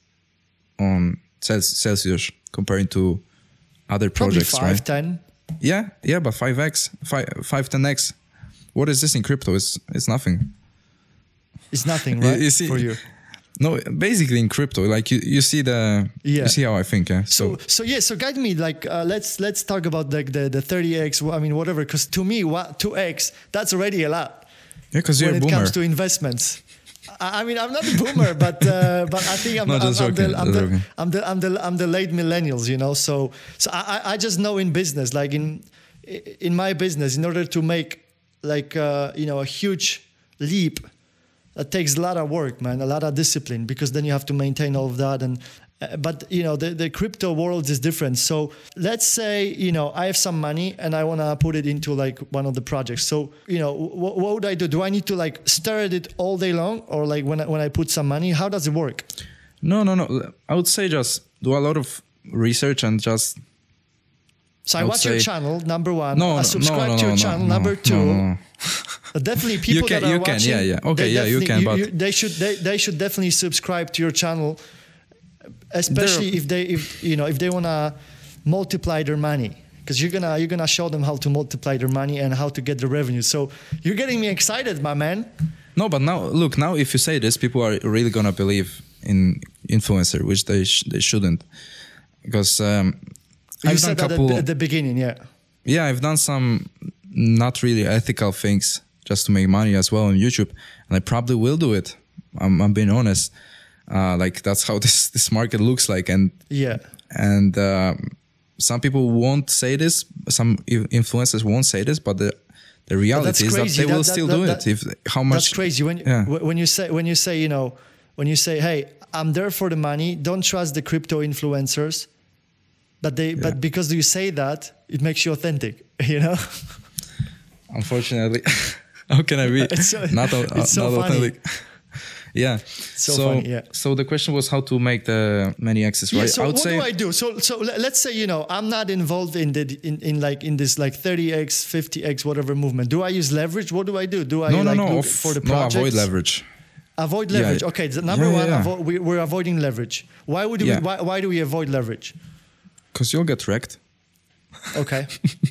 on Celsius comparing to other projects, Probably five, right? ten. Yeah, yeah, but five X, five, five, ten X. What is this in crypto? It's it's nothing. It's nothing, right? You see, for you. No, basically in crypto, like you, you see the yeah. you see how I think, yeah. So so, so yeah, so guide me, like uh, let's let's talk about like the the thirty X. I mean, whatever, because to me, what two X that's already a lot. Yeah, because you're when a it boomer. comes to investments. I, I mean, I'm not a boomer, but uh, but I think I'm, no, I'm, I'm, joking, the, I'm, the, joking. I'm the I'm the I'm the late millennials, you know. So so I I just know in business, like in in my business, in order to make like uh, you know a huge leap. It takes a lot of work, man, a lot of discipline, because then you have to maintain all of that. And uh, but you know, the, the crypto world is different. So let's say, you know, I have some money and I want to put it into like one of the projects. So, you know, wh- what would I do? Do I need to like stare at it all day long, or like when I, when I put some money? How does it work? No, no, no. I would say just do a lot of research and just. So I, I watch your channel, number one. No, I subscribe no, no, to your no, channel, no, number two. No, no. Definitely, people you can, that are you watching. Can, yeah, yeah. Okay, yeah, you can, you, but you, they should they, they should definitely subscribe to your channel, especially if they if you know if they wanna multiply their money, because you're gonna you're gonna show them how to multiply their money and how to get the revenue. So you're getting me excited, my man. No, but now look, now if you say this, people are really gonna believe in influencer, which they sh- they shouldn't, because um, you I've said done that couple, at, at the beginning, yeah. Yeah, I've done some not really ethical things just to make money as well on YouTube, and I probably will do it. I'm, I'm being honest. Uh, like that's how this this market looks like, and yeah, and uh, some people won't say this. Some influencers won't say this, but the the reality is that they that, will that, still that, do that, it. If how much? That's crazy when yeah. when you say when you say you know when you say, hey, I'm there for the money. Don't trust the crypto influencers. But they, yeah. but because you say that, it makes you authentic, you know. Unfortunately, how can I be it's so, not, uh, it's so not funny. authentic? Yeah. So, so funny, yeah. So the question was how to make the many X's, right? Yeah, so I would what say, do I do? So so let's say, you know, I'm not involved in the in, in like in this like thirty X, fifty X, whatever movement. Do I use leverage? What do I do? Do I no, like no, no, look of, for the no, projects? avoid leverage. Avoid leverage. Yeah. Okay, the number yeah, one, yeah. avo- we, we're avoiding leverage. Why would yeah. we? Why, why do we avoid leverage? Because you'll get wrecked. Okay.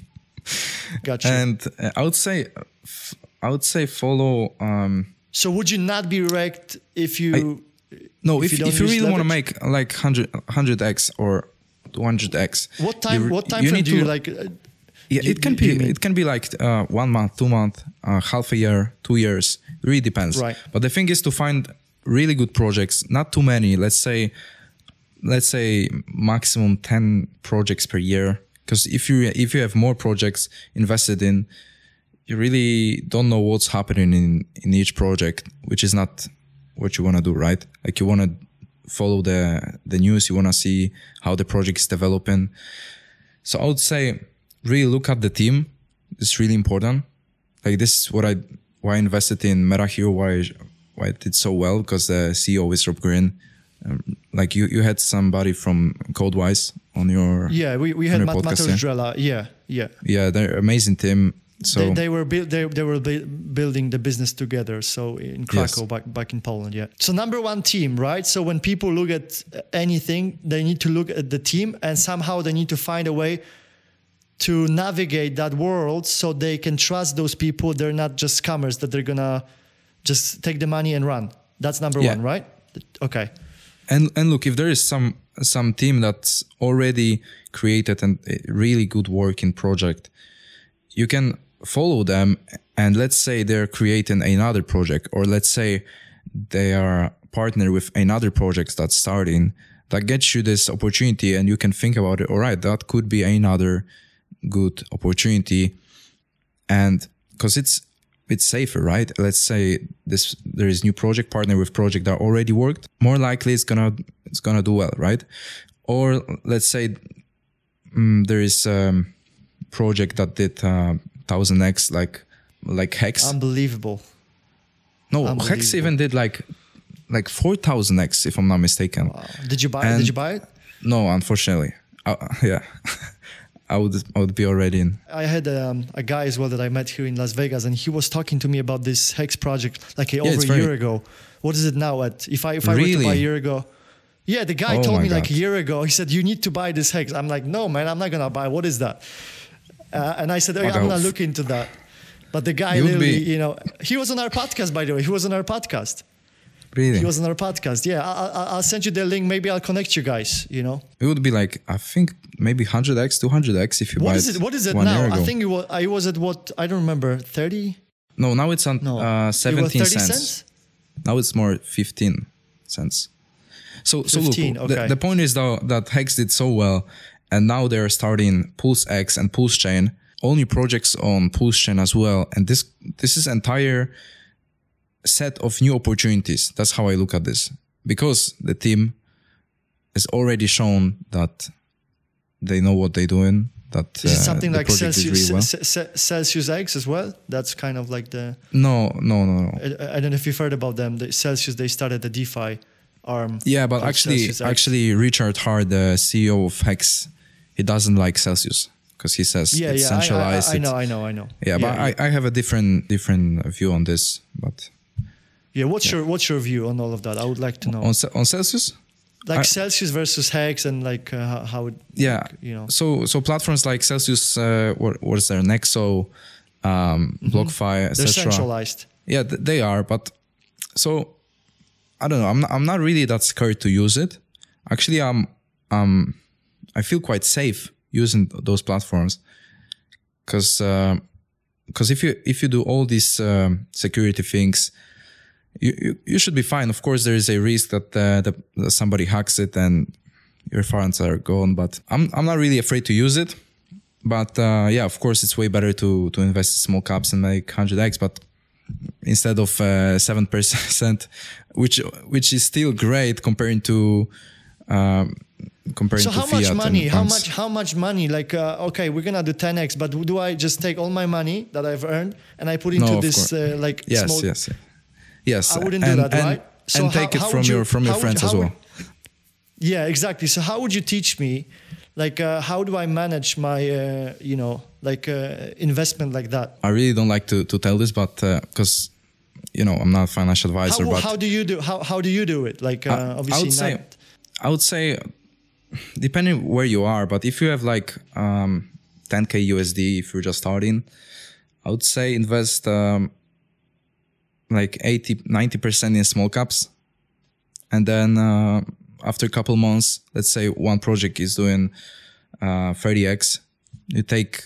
Gotcha. And uh, I would say, I would say follow. Um, so would you not be wrecked if you? I, no, if, if you, if you really leverage? want to make like one hundred X or two hundred X. What time? You, what time you frame do you to, like? Uh, yeah, you, it can you, be. you It can be like uh, one month, two month, uh, half a year, two years. It really depends. Right. But the thing is to find really good projects. Not too many. Let's say, let's say maximum ten projects per year. Because if you if you have more projects invested in, you really don't know what's happening in, in each project, which is not what you want to do, right? Like you want to follow the the news, you want to see how the project is developing. So I would say really look at the team. It's really important. Like this is what I why I invested in MetaHero, why why it did so well, because the C E O is Rob Green. Um, like you, you had somebody from CodeWise on your yeah we, we had Mat- podcast, Mateusz Drella yeah yeah yeah they're amazing team. So they, they were bu- they, they were bu- building the business together. So in Krakow, yes. back back in Poland, yeah. So number one team, right? So when people look at anything, they need to look at the team, and somehow they need to find a way to navigate that world so they can trust those people. They're not just scammers that they're gonna just take the money and run. That's number yeah. one, right? Okay. And and look, if there is some some team that's already created a really good working project, you can follow them, and let's say they're creating another project, or let's say they are partnered with another project that's starting, that gets you this opportunity, and you can think about it. All right, that could be another good opportunity, and because it's it's safer, right? Let's say this there is new project partner with project that already worked. More likely, it's gonna it's gonna do well, right? Or let's say um, there is a project that did uh, one thousand X, like like Hex. Unbelievable. No, Unbelievable. Hex even did like like four thousand X, if I'm not mistaken. Wow. Did you buy? And Did you buy it? No, unfortunately. Uh, yeah. I would I would be already in. I had um, a guy as well that I met here in Las Vegas, and he was talking to me about this Hex project like yeah, over a very... year ago. What is it now at? If I if I really? were to buy a year ago, yeah, the guy oh told me God. like a year ago. He said you need to buy this Hex. I'm like, no, man, I'm not gonna buy. What is that? Uh, and I said, okay, I'm gonna look into that. But the guy, literally, be... you know, he was on our podcast, by the way. He was on our podcast. Really? He was on our podcast. Yeah, I, I'll send you the link. Maybe I'll connect you guys, you know. It would be like, I think maybe one hundred x, two hundred x if you what buy is it. What is it one now? Year ago. I think it was, I was at what, I don't remember, thirty? No, now it's on no. uh, seventeen it was thirty cents. cents. Now it's more fifteen cents. So, fifteen, so look, okay. the, the point is though that Hex did so well, and now they're starting Pulse X and Pulse Chain, all new projects on Pulse Chain as well. And this, this is entire set of new opportunities. That's how I look at this, because the team has already shown that they know what they're doing. That is it uh, something like Celsius, really well. C- C- Celsius X as well? That's kind of like the. No, no, no, no. I, I don't know if you've heard about them. The Celsius, they started the DeFi arm. Yeah, but actually, actually, Richard Hart, the C E O of Hex, he doesn't like Celsius because he says yeah, it's yeah, centralized. I, I, I know, I know, I know. Yeah, yeah but yeah. I, I have a different different view on this. But yeah, what's yeah. your what's your view on all of that? I would like to know. On on Celsius. Like I, Celsius versus Hex and like uh, how it, yeah like, you know. So so platforms like Celsius, uh, what what is there? Nexo, um, mm-hmm. BlockFi, et cetera. They're centralized. Yeah, th- they are. But so I don't know. I'm not, I'm not really that scared to use it. Actually, I'm um I feel quite safe using those platforms because because uh, if you if you do all these um, security things. You, you you should be fine. Of course, there is a risk that, uh, that that somebody hacks it and your funds are gone. But I'm I'm not really afraid to use it. But uh, yeah, of course, it's way better to to invest in small caps and make one hundred x. But instead of uh, seven percent, which which is still great comparing to um, comparing so to how fiat much money? and How funds. much? How much money? Like uh, okay, we're gonna do ten x, but do I just take all my money that I've earned and I put into no, this uh, like yes, small? Yes, yes. Yes, I wouldn't and, do that, and, right? So and how, take it how from you, your from your friends would, as well. Would, yeah, exactly. So how would you teach me, like, uh, how do I manage my, uh, you know, like uh, investment like that? I really don't like to to tell this, but because uh, you know I'm not a financial advisor. How, but how do you do? How how do you do it? Like, uh, I, obviously, I would say, not. I would say, depending where you are, but if you have like um, ten K U S D, if you're just starting, I would say invest. Um, like eighty, ninety percent in small caps. And then uh, after a couple months, let's say one project is doing uh, thirty x, you take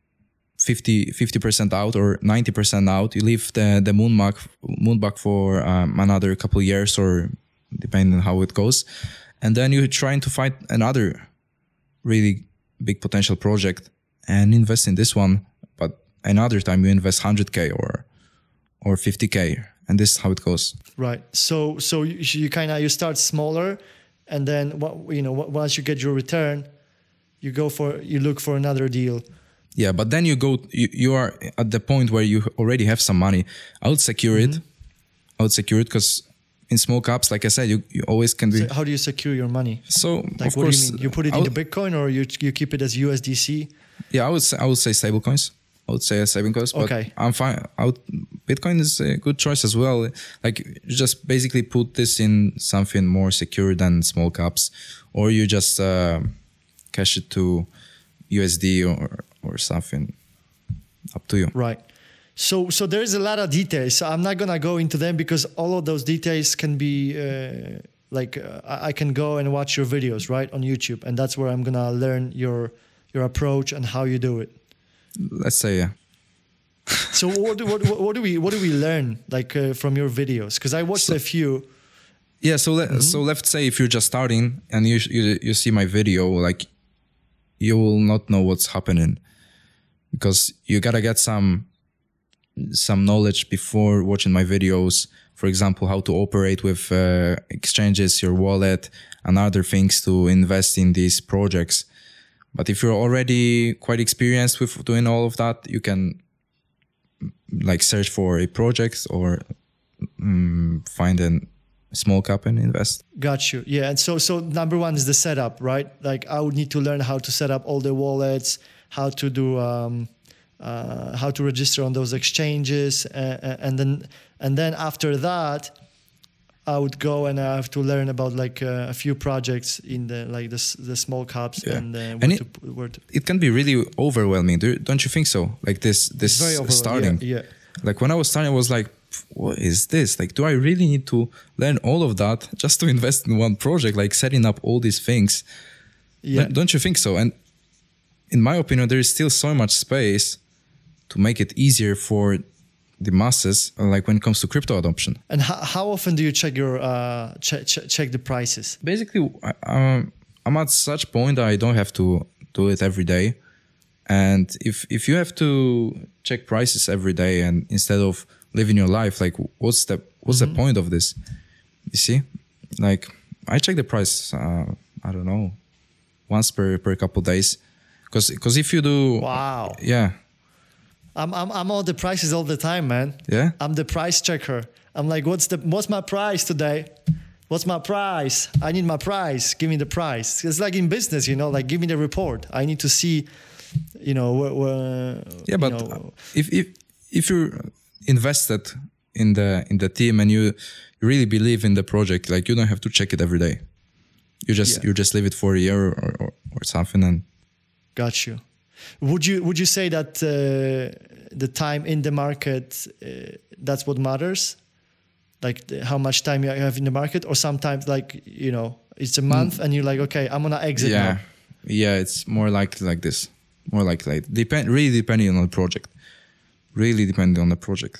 fifty, fifty percent out or ninety percent out. You leave the, the moonback, moonback for um, another couple of years or depending on how it goes. And then you're trying to find another really big potential project and invest in this one. But another time you invest one hundred K or or fifty K, and this is how it goes. Right. So so you, you kind of you start smaller, and then what you know once you get your return, you go for you look for another deal. Yeah, but then you go you, you are at the point where you already have some money. I would secure mm-hmm. it. I would secure it because in small caps, like I said, you, you always can be. So how do you secure your money? So like of what course, do you mean? You put it would, into Bitcoin or you you keep it as U S D C? Yeah, I would say I would say stablecoins. I would say a saving cost, but okay. I'm fine. I would, Bitcoin is a good choice as well. Like you just basically put this in something more secure than small caps, or you just uh, cash it to U S D or or something. Up to you. Right. So so there is a lot of details. So I'm not gonna go into them because all of those details can be uh, like uh, I can go and watch your videos right on YouTube, and that's where I'm gonna learn your your approach and how you do it. Let's say yeah. So what do, what what do we what do we learn like uh, from your videos? Because I watched so, a few. Yeah. So let, mm-hmm. so let's say if you're just starting and you, you you see my video, like you will not know what's happening because you gotta get some some knowledge before watching my videos. For example, how to operate with uh, exchanges, your wallet, and other things to invest in these projects. But if you're already quite experienced with doing all of that, you can like search for a project or um, find a small cap and invest. Got you. Yeah. And so, so number one is the setup, right? Like I would need to learn how to set up all the wallets, how to do um, uh, how to register on those exchanges, uh, and then and then after that, I would go and I have to learn about like uh, a few projects in the like the the small caps Yeah. and uh, where And it- to, where to. It can be really overwhelming, do- don't you think so? Like this, this Very overwhelming, starting. yeah, yeah. Like when I was starting, I was like, what is this? Like, do I really need to learn all of that just to invest in one project? Like setting up all these things. Yeah. Don't- Don't you think so? And in my opinion, there is still so much space to make it easier for the masses, like when it comes to crypto adoption. And how, how often do you check your uh, check check check the prices? Basically, I- um, I'm at such point that I don't have to do it every day. And if if you have to check prices every day and instead of living your life, like what's the what's Mm-hmm. the point of this? You see, like I check the price. Uh, I don't know, once per per couple days, because because if you do, Wow. yeah, I'm I'm I'm on the prices all the time, man. yeah, I'm the price checker. I'm like, what's the what's my price today? What's my price? I need my price. Give me the price. It's like in business, you know, like give me the report. I need to see, you know, where, where yeah. But you know, if if if you're invested in the in the team and you really believe in the project, like you don't have to check it every day. You just Yeah. you just leave it for a year or, or, or something, and got you. Would you would you say that uh, the time in the market uh, that's what matters? Like the, how much time you have in the market, or sometimes like you know it's a month and you're like, okay, I'm gonna exit yeah, now. yeah, it's more like like this, more like like depend really depending on the project, really depending on the project.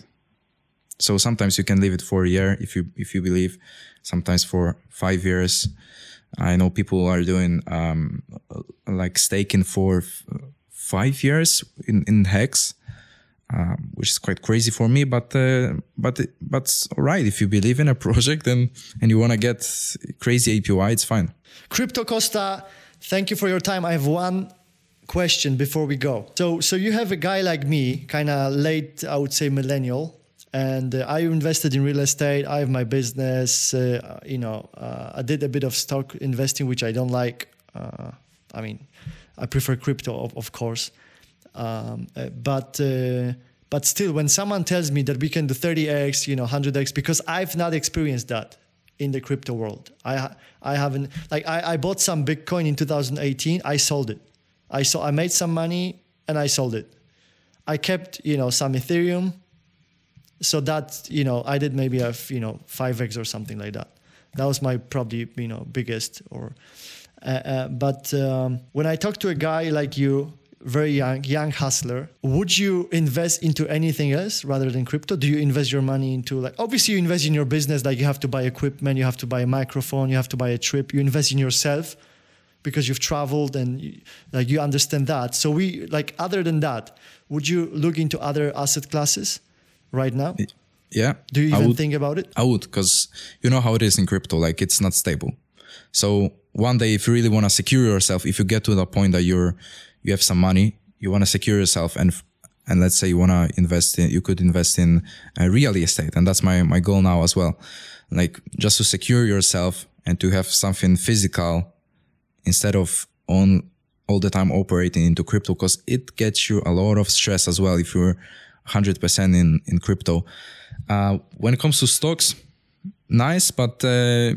So sometimes you can leave it for a year if you if you believe, sometimes for five years. I know people are doing um, like staking for f- five years in in Hex, um, which is quite crazy for me. But uh, but but it's all right if you believe in a project and and you want to get crazy A P Y, it's fine. Crypto Costa, thank you for your time. I have one question before we go. So, so you have a guy like me, kind of late, I would say, millennial, and uh, I invested in real estate. I have my business. Uh, you know, uh, I did a bit of stock investing, which I don't like. Uh, I mean, I prefer crypto, of, of course, um, uh, but. Uh, But still, when someone tells me that we can do thirty x, you know, one hundred x, because I've not experienced that in the crypto world. I I haven't, like, I, I bought some Bitcoin in two thousand eighteen. I sold it. I saw, I made some money and I sold it. I kept, you know, some Ethereum. So that, you know, I did maybe a, you know, five x or something like that. That was my probably, you know, biggest or, uh, uh, but um, when I talk to a guy like you, very young, young hustler, would you invest into anything else rather than crypto? Do you invest your money into, like, obviously you invest in your business, like you have to buy equipment, you have to buy a microphone, you have to buy a trip, you invest in yourself because you've traveled and you, like you understand that. So we, like, other than that, would you look into other asset classes right now? Yeah. Do you I even would, think about it? I would, because you know how it is in crypto, like it's not stable. So one day, if you really want to secure yourself, if you get to the point that you're, you have some money, you want to secure yourself, and and let's say you want to invest in, you could invest in uh, real estate, and that's my my goal now as well, like just to secure yourself and to have something physical instead of on all the time operating into crypto, because it gets you a lot of stress as well if you're one hundred percent in in crypto. Uh, when it comes to stocks, nice, but uh,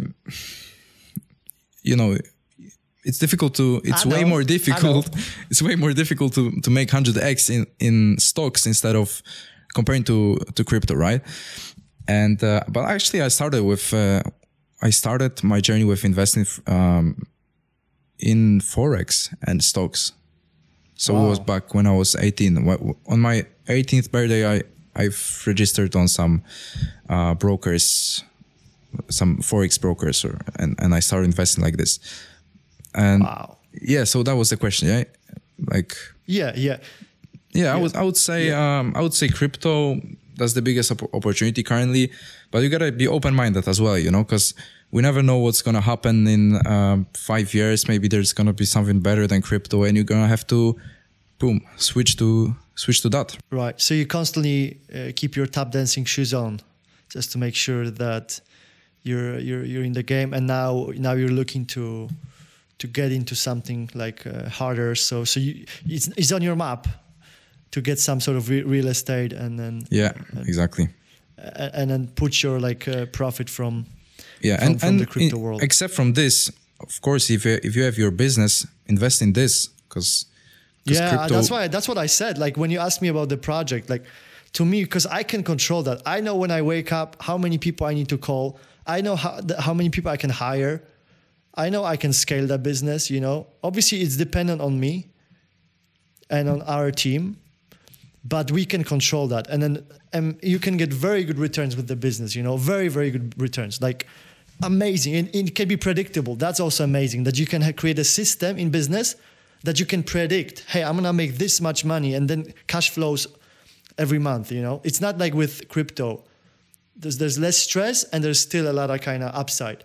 you know. It's difficult to, it's way more difficult. It's way more difficult to, to make one hundred x in, in stocks instead of comparing to, to crypto, right? And, uh, but actually I started with, uh, I started my journey with investing, um, in Forex and stocks. So wow. It was back when I was eighteen. On my eighteenth birthday, I, I've registered on some, uh, brokers, some Forex brokers, or, and, and I started investing like this. And wow. Yeah, so that was the question, yeah? Like Yeah, yeah. Yeah, yeah. I would I would say yeah. um I would say crypto, that's the biggest op- opportunity currently, but you got to be open-minded as well, you know, cuz we never know what's going to happen in um, five years. Maybe there's going to be something better than crypto and you're going to have to boom, switch to switch to that. Right. So you constantly uh, keep your tap dancing shoes on just to make sure that you're you're you're in the game, and now now you're looking to to get into something like uh, harder. So so you, it's it's on your map to get some sort of re- real estate and then yeah and, exactly and, and then put your like uh, profit from yeah from, and, from and the crypto in, world. Except from this, of course, if you, if you have your business, invest in this because yeah crypto, that's why that's what I said. Like when you asked me about the project, like to me, because I can control that. I know when I wake up how many people I need to call. I know how the, how many people I can hire. I know I can scale that business, you know. Obviously it's dependent on me and on our team, but we can control that. And then um, you can get very good returns with the business, you know, very, very good returns. Like amazing. And it can be predictable. That's also amazing that you can ha- create a system in business that you can predict, hey, I'm going to make this much money and then cash flows every month, you know. It's not like with crypto. There's, there's less stress and there's still a lot of kind of upside.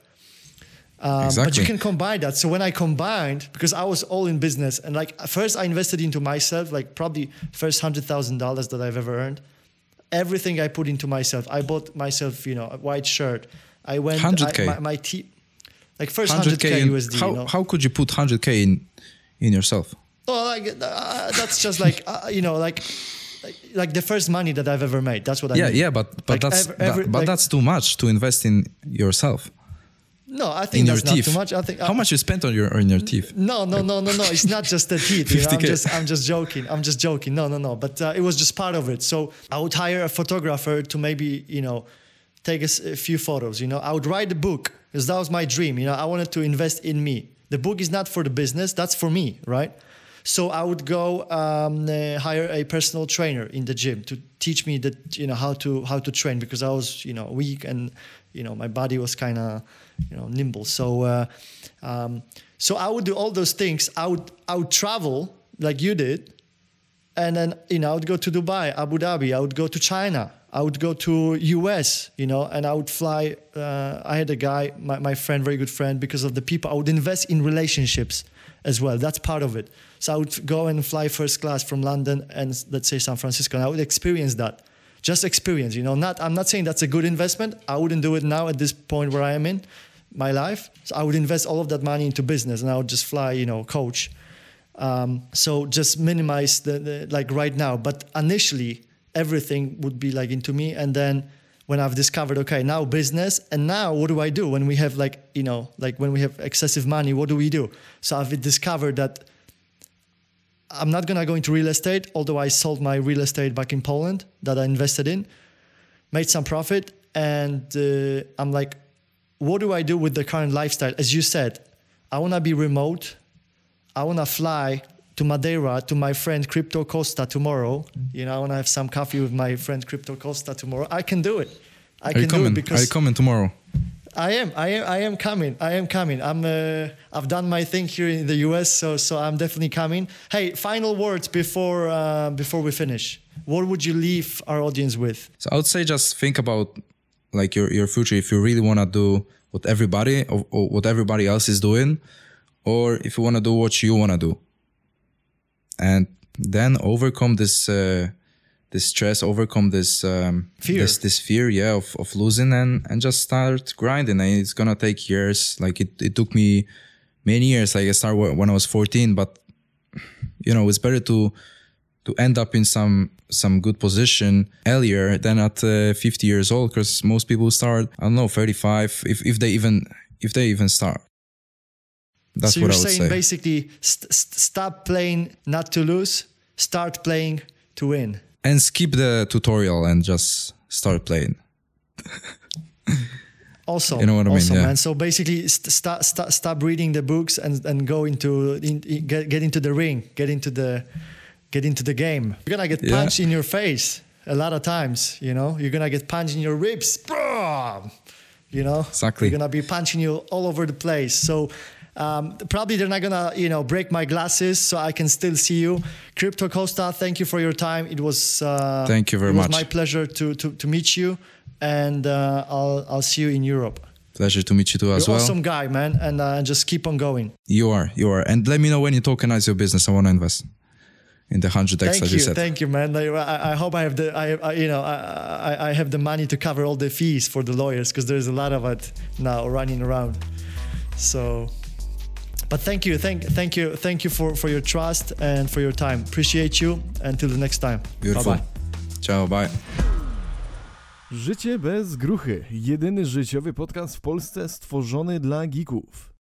Um, exactly. But you can combine that. So when I combined, because I was all in business and like first I invested into myself, like probably first one hundred thousand dollars that I've ever earned. Everything I put into myself. I bought myself, you know, a white shirt. I went, one hundred K. I, my, my te- like first one hundred K in, U S D. How, you know? how could you put one hundred K in, in yourself? Oh, like, uh, that's just like, uh, you know, like, like like the first money that I've ever made. That's what I yeah, mean. Yeah, but, but, like that's, every, every, that, but like, that's too much to invest in yourself. No, I think in that's your not teeth. too much. I think how uh, much you spent on your on your teeth? No, no, no, no, no. It's not just the teeth. You know? I'm fifty K. just, I'm just joking. I'm just joking. No, no, no. But uh, it was just part of it. So I would hire a photographer to maybe, you know, take a, a few photos. You know, I would write a book because that was my dream. You know, I wanted to invest in me. The book is not for the business. That's for me, right? So I would go um, uh, hire a personal trainer in the gym to teach me that, you know, how to how to train because I was, you know, weak and, you know, my body was kind of, you know, nimble. So, uh, um, so I would do all those things. I would I would travel like you did, and then you know I would go to Dubai, Abu Dhabi. I would go to China. I would go to U S. You know, and I would fly. Uh, I had a guy, my my friend, very good friend, because of the people. I would invest in relationships as well. That's part of it. So I would go and fly first class from London and let's say San Francisco, and I would experience that. Just experience, you know. Not I'm not saying that's a good investment. I wouldn't do it now at this point where I am in my life. So I would invest all of that money into business, and I would just fly, you know, coach. Um, so just minimize the, the like right now. But initially, everything would be like into me, and then when I've discovered, okay, now business, and now what do I do when we have like, you know, like when we have excessive money, what do we do? So I've discovered that I'm not going to go into real estate, although I sold my real estate back in Poland that I invested in, made some profit. And uh, I'm like, what do I do with the current lifestyle? As you said, I want to be remote. I want to fly to Madeira to my friend Crypto Costa tomorrow. You know, I want to have some coffee with my friend Crypto Costa tomorrow. I can do it. I Are can you coming? do it because Are you coming tomorrow? I am. I am. I am coming. I am coming. I'm. Uh, I've done my thing here in the U S, so so I'm definitely coming. Hey, final words before uh, before we finish. What would you leave our audience with? So I would say just think about like your your future. If you really want to do what everybody or, or what everybody else is doing, or if you want to do what you want to do, and then overcome this. Uh, This stress, overcome this um, fear, this, this fear, yeah, of, of losing, and, and just start grinding. And it's gonna take years. Like it, it took me many years. Like I started when I was fourteen, but you know, it's better to to end up in some some good position earlier than at uh, fifty years old. Because most people start, I don't know, thirty-five, if if they even if they even start. That's so what you're I would saying say. Basically, st- st- stop playing not to lose, start playing to win. And skip the tutorial and just start playing. Also, you know what I mean, also, yeah. man. So basically, st- stop st- stop reading the books and, and go into in, in, get get into the ring, get into the get into the game. You're gonna get Yeah. punched in your face a lot of times. You know, you're gonna get punched in your ribs. You know, Exactly. You're gonna be punching you all over the place. So. Um, probably they're not gonna, you know, break my glasses, so I can still see you. Crypto Costa, thank you for your time. It was uh, thank you very it was much. my pleasure to to to meet you, and uh, I'll I'll see you in Europe. Pleasure to meet you too as You're well. awesome guy, man, and uh, just keep on going. You are, you are, and let me know when you tokenize your business. I want to invest in the hundred X Thank that you, you said. thank you, man. I, I hope I have the, I, I you know, I, I have the money to cover all the fees for the lawyers because there's a lot of it now running around. So. But thank you, thank, thank you, thank you for, for your trust and for your time. Appreciate you. Until the next time. Beautiful. Bye bye. Ciao, bye. Życie bez gruchy. Jedyny życiowy podcast w Polsce stworzony dla geeków.